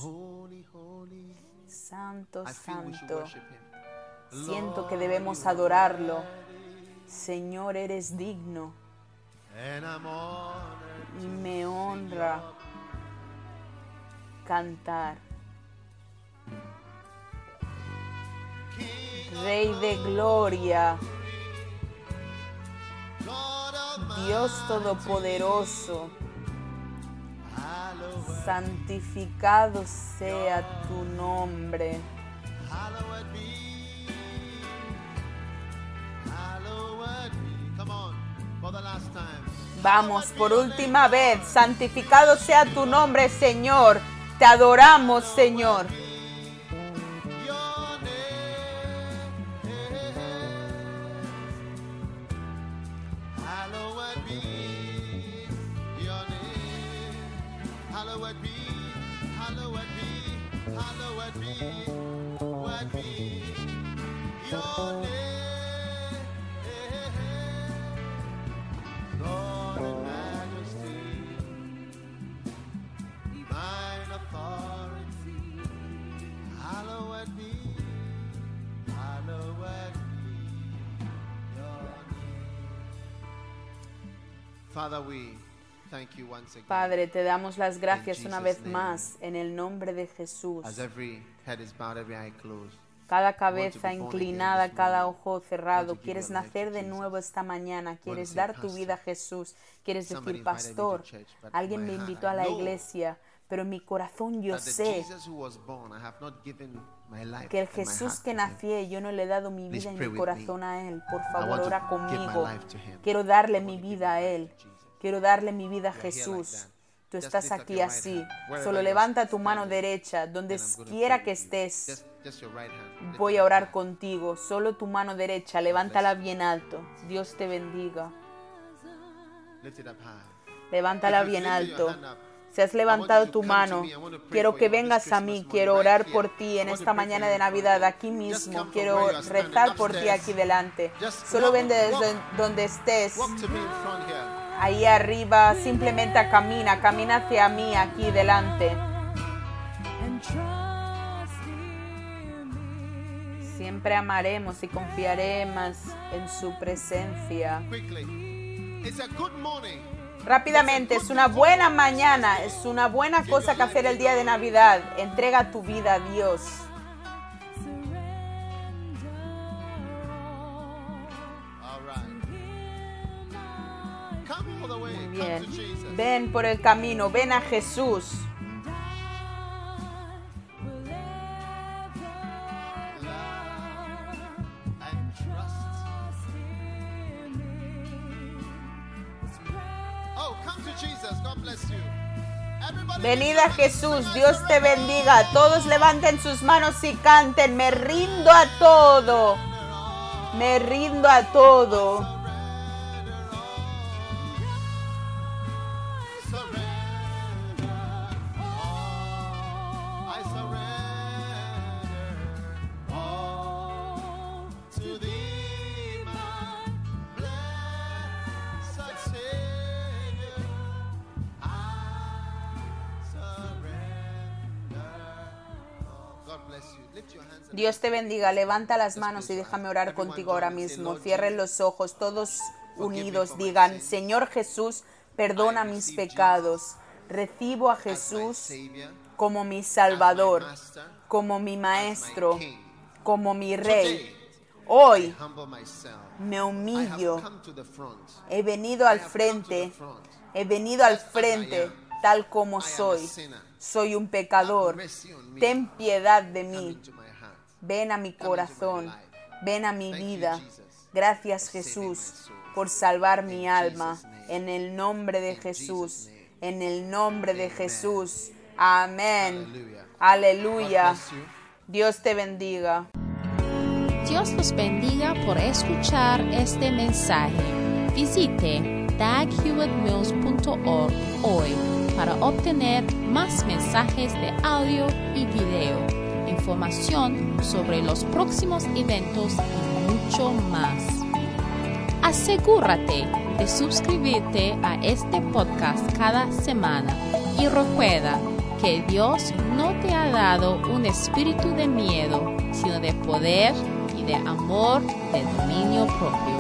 Speaker 2: Santo, santo, siento que debemos adorarlo. Señor, eres digno y me honra cantar. Rey de gloria, Dios todopoderoso, santificado sea tu nombre. Vamos, por última vez, santificado sea tu nombre, Señor. Te adoramos, Señor. Padre, te damos las gracias una vez más en el nombre de Jesús. Cada cabeza inclinada, cada ojo cerrado. Quieres nacer de nuevo esta mañana. Quieres dar tu vida a Jesús. Quieres decir: pastor, alguien me invitó a la iglesia, pero en mi corazón yo sé que el Jesús que nací, yo no le he dado mi vida y mi corazón a Él. Por favor, ora conmigo. Quiero darle mi vida a Él. Quiero darle mi vida a Jesús. Tú estás aquí así. Solo levanta tu mano derecha. Donde quiera que estés, voy a orar contigo. Solo tu mano derecha, levántala bien alto. Dios te bendiga. Levántala bien alto. Si has levantado tu mano, quiero que vengas a mí. Quiero orar por ti en esta mañana de Navidad, aquí mismo. Quiero rezar por ti aquí delante. Solo ven desde donde estés. Ahí arriba, simplemente camina, camina hacia mí aquí delante. Siempre amaremos y confiaremos en su presencia. Rápidamente, es una buena mañana, es una buena cosa que hacer el día de Navidad. Entrega tu vida a Dios. Muy bien. Ven por el camino, ven a Jesús. Venid a Jesús, Dios te bendiga. Todos levanten sus manos y canten: me rindo a todo, me rindo a todo.
Speaker 3: to thee, my blessed Savior, I surrender all. God bless you. Lift your hands and
Speaker 2: Dios te bendiga. Levanta las manos y déjame orar contigo ahora mismo. Cierren los ojos, todos unidos. Digan, Señor Jesús, perdona mis pecados. Recibo a Jesús como mi Salvador, como mi Maestro, como mi Rey. Hoy me humillo. He venido al frente. He venido al frente tal como soy. Soy un pecador. Ten piedad de mí. Ven a mi corazón. Ven a mi vida. Gracias, Jesús, por salvar mi alma. En el nombre de Jesús. En el nombre de Jesús. Amén. Aleluya. Dios te bendiga.
Speaker 1: Dios los bendiga por escuchar este mensaje. Visite dag hewitt mills punto org hoy para obtener más mensajes de audio y video, información sobre los próximos eventos y mucho más. Asegúrate de suscribirte a este podcast cada semana y recuerda que Dios no te ha dado un espíritu de miedo, sino de poder y de amor, de dominio propio.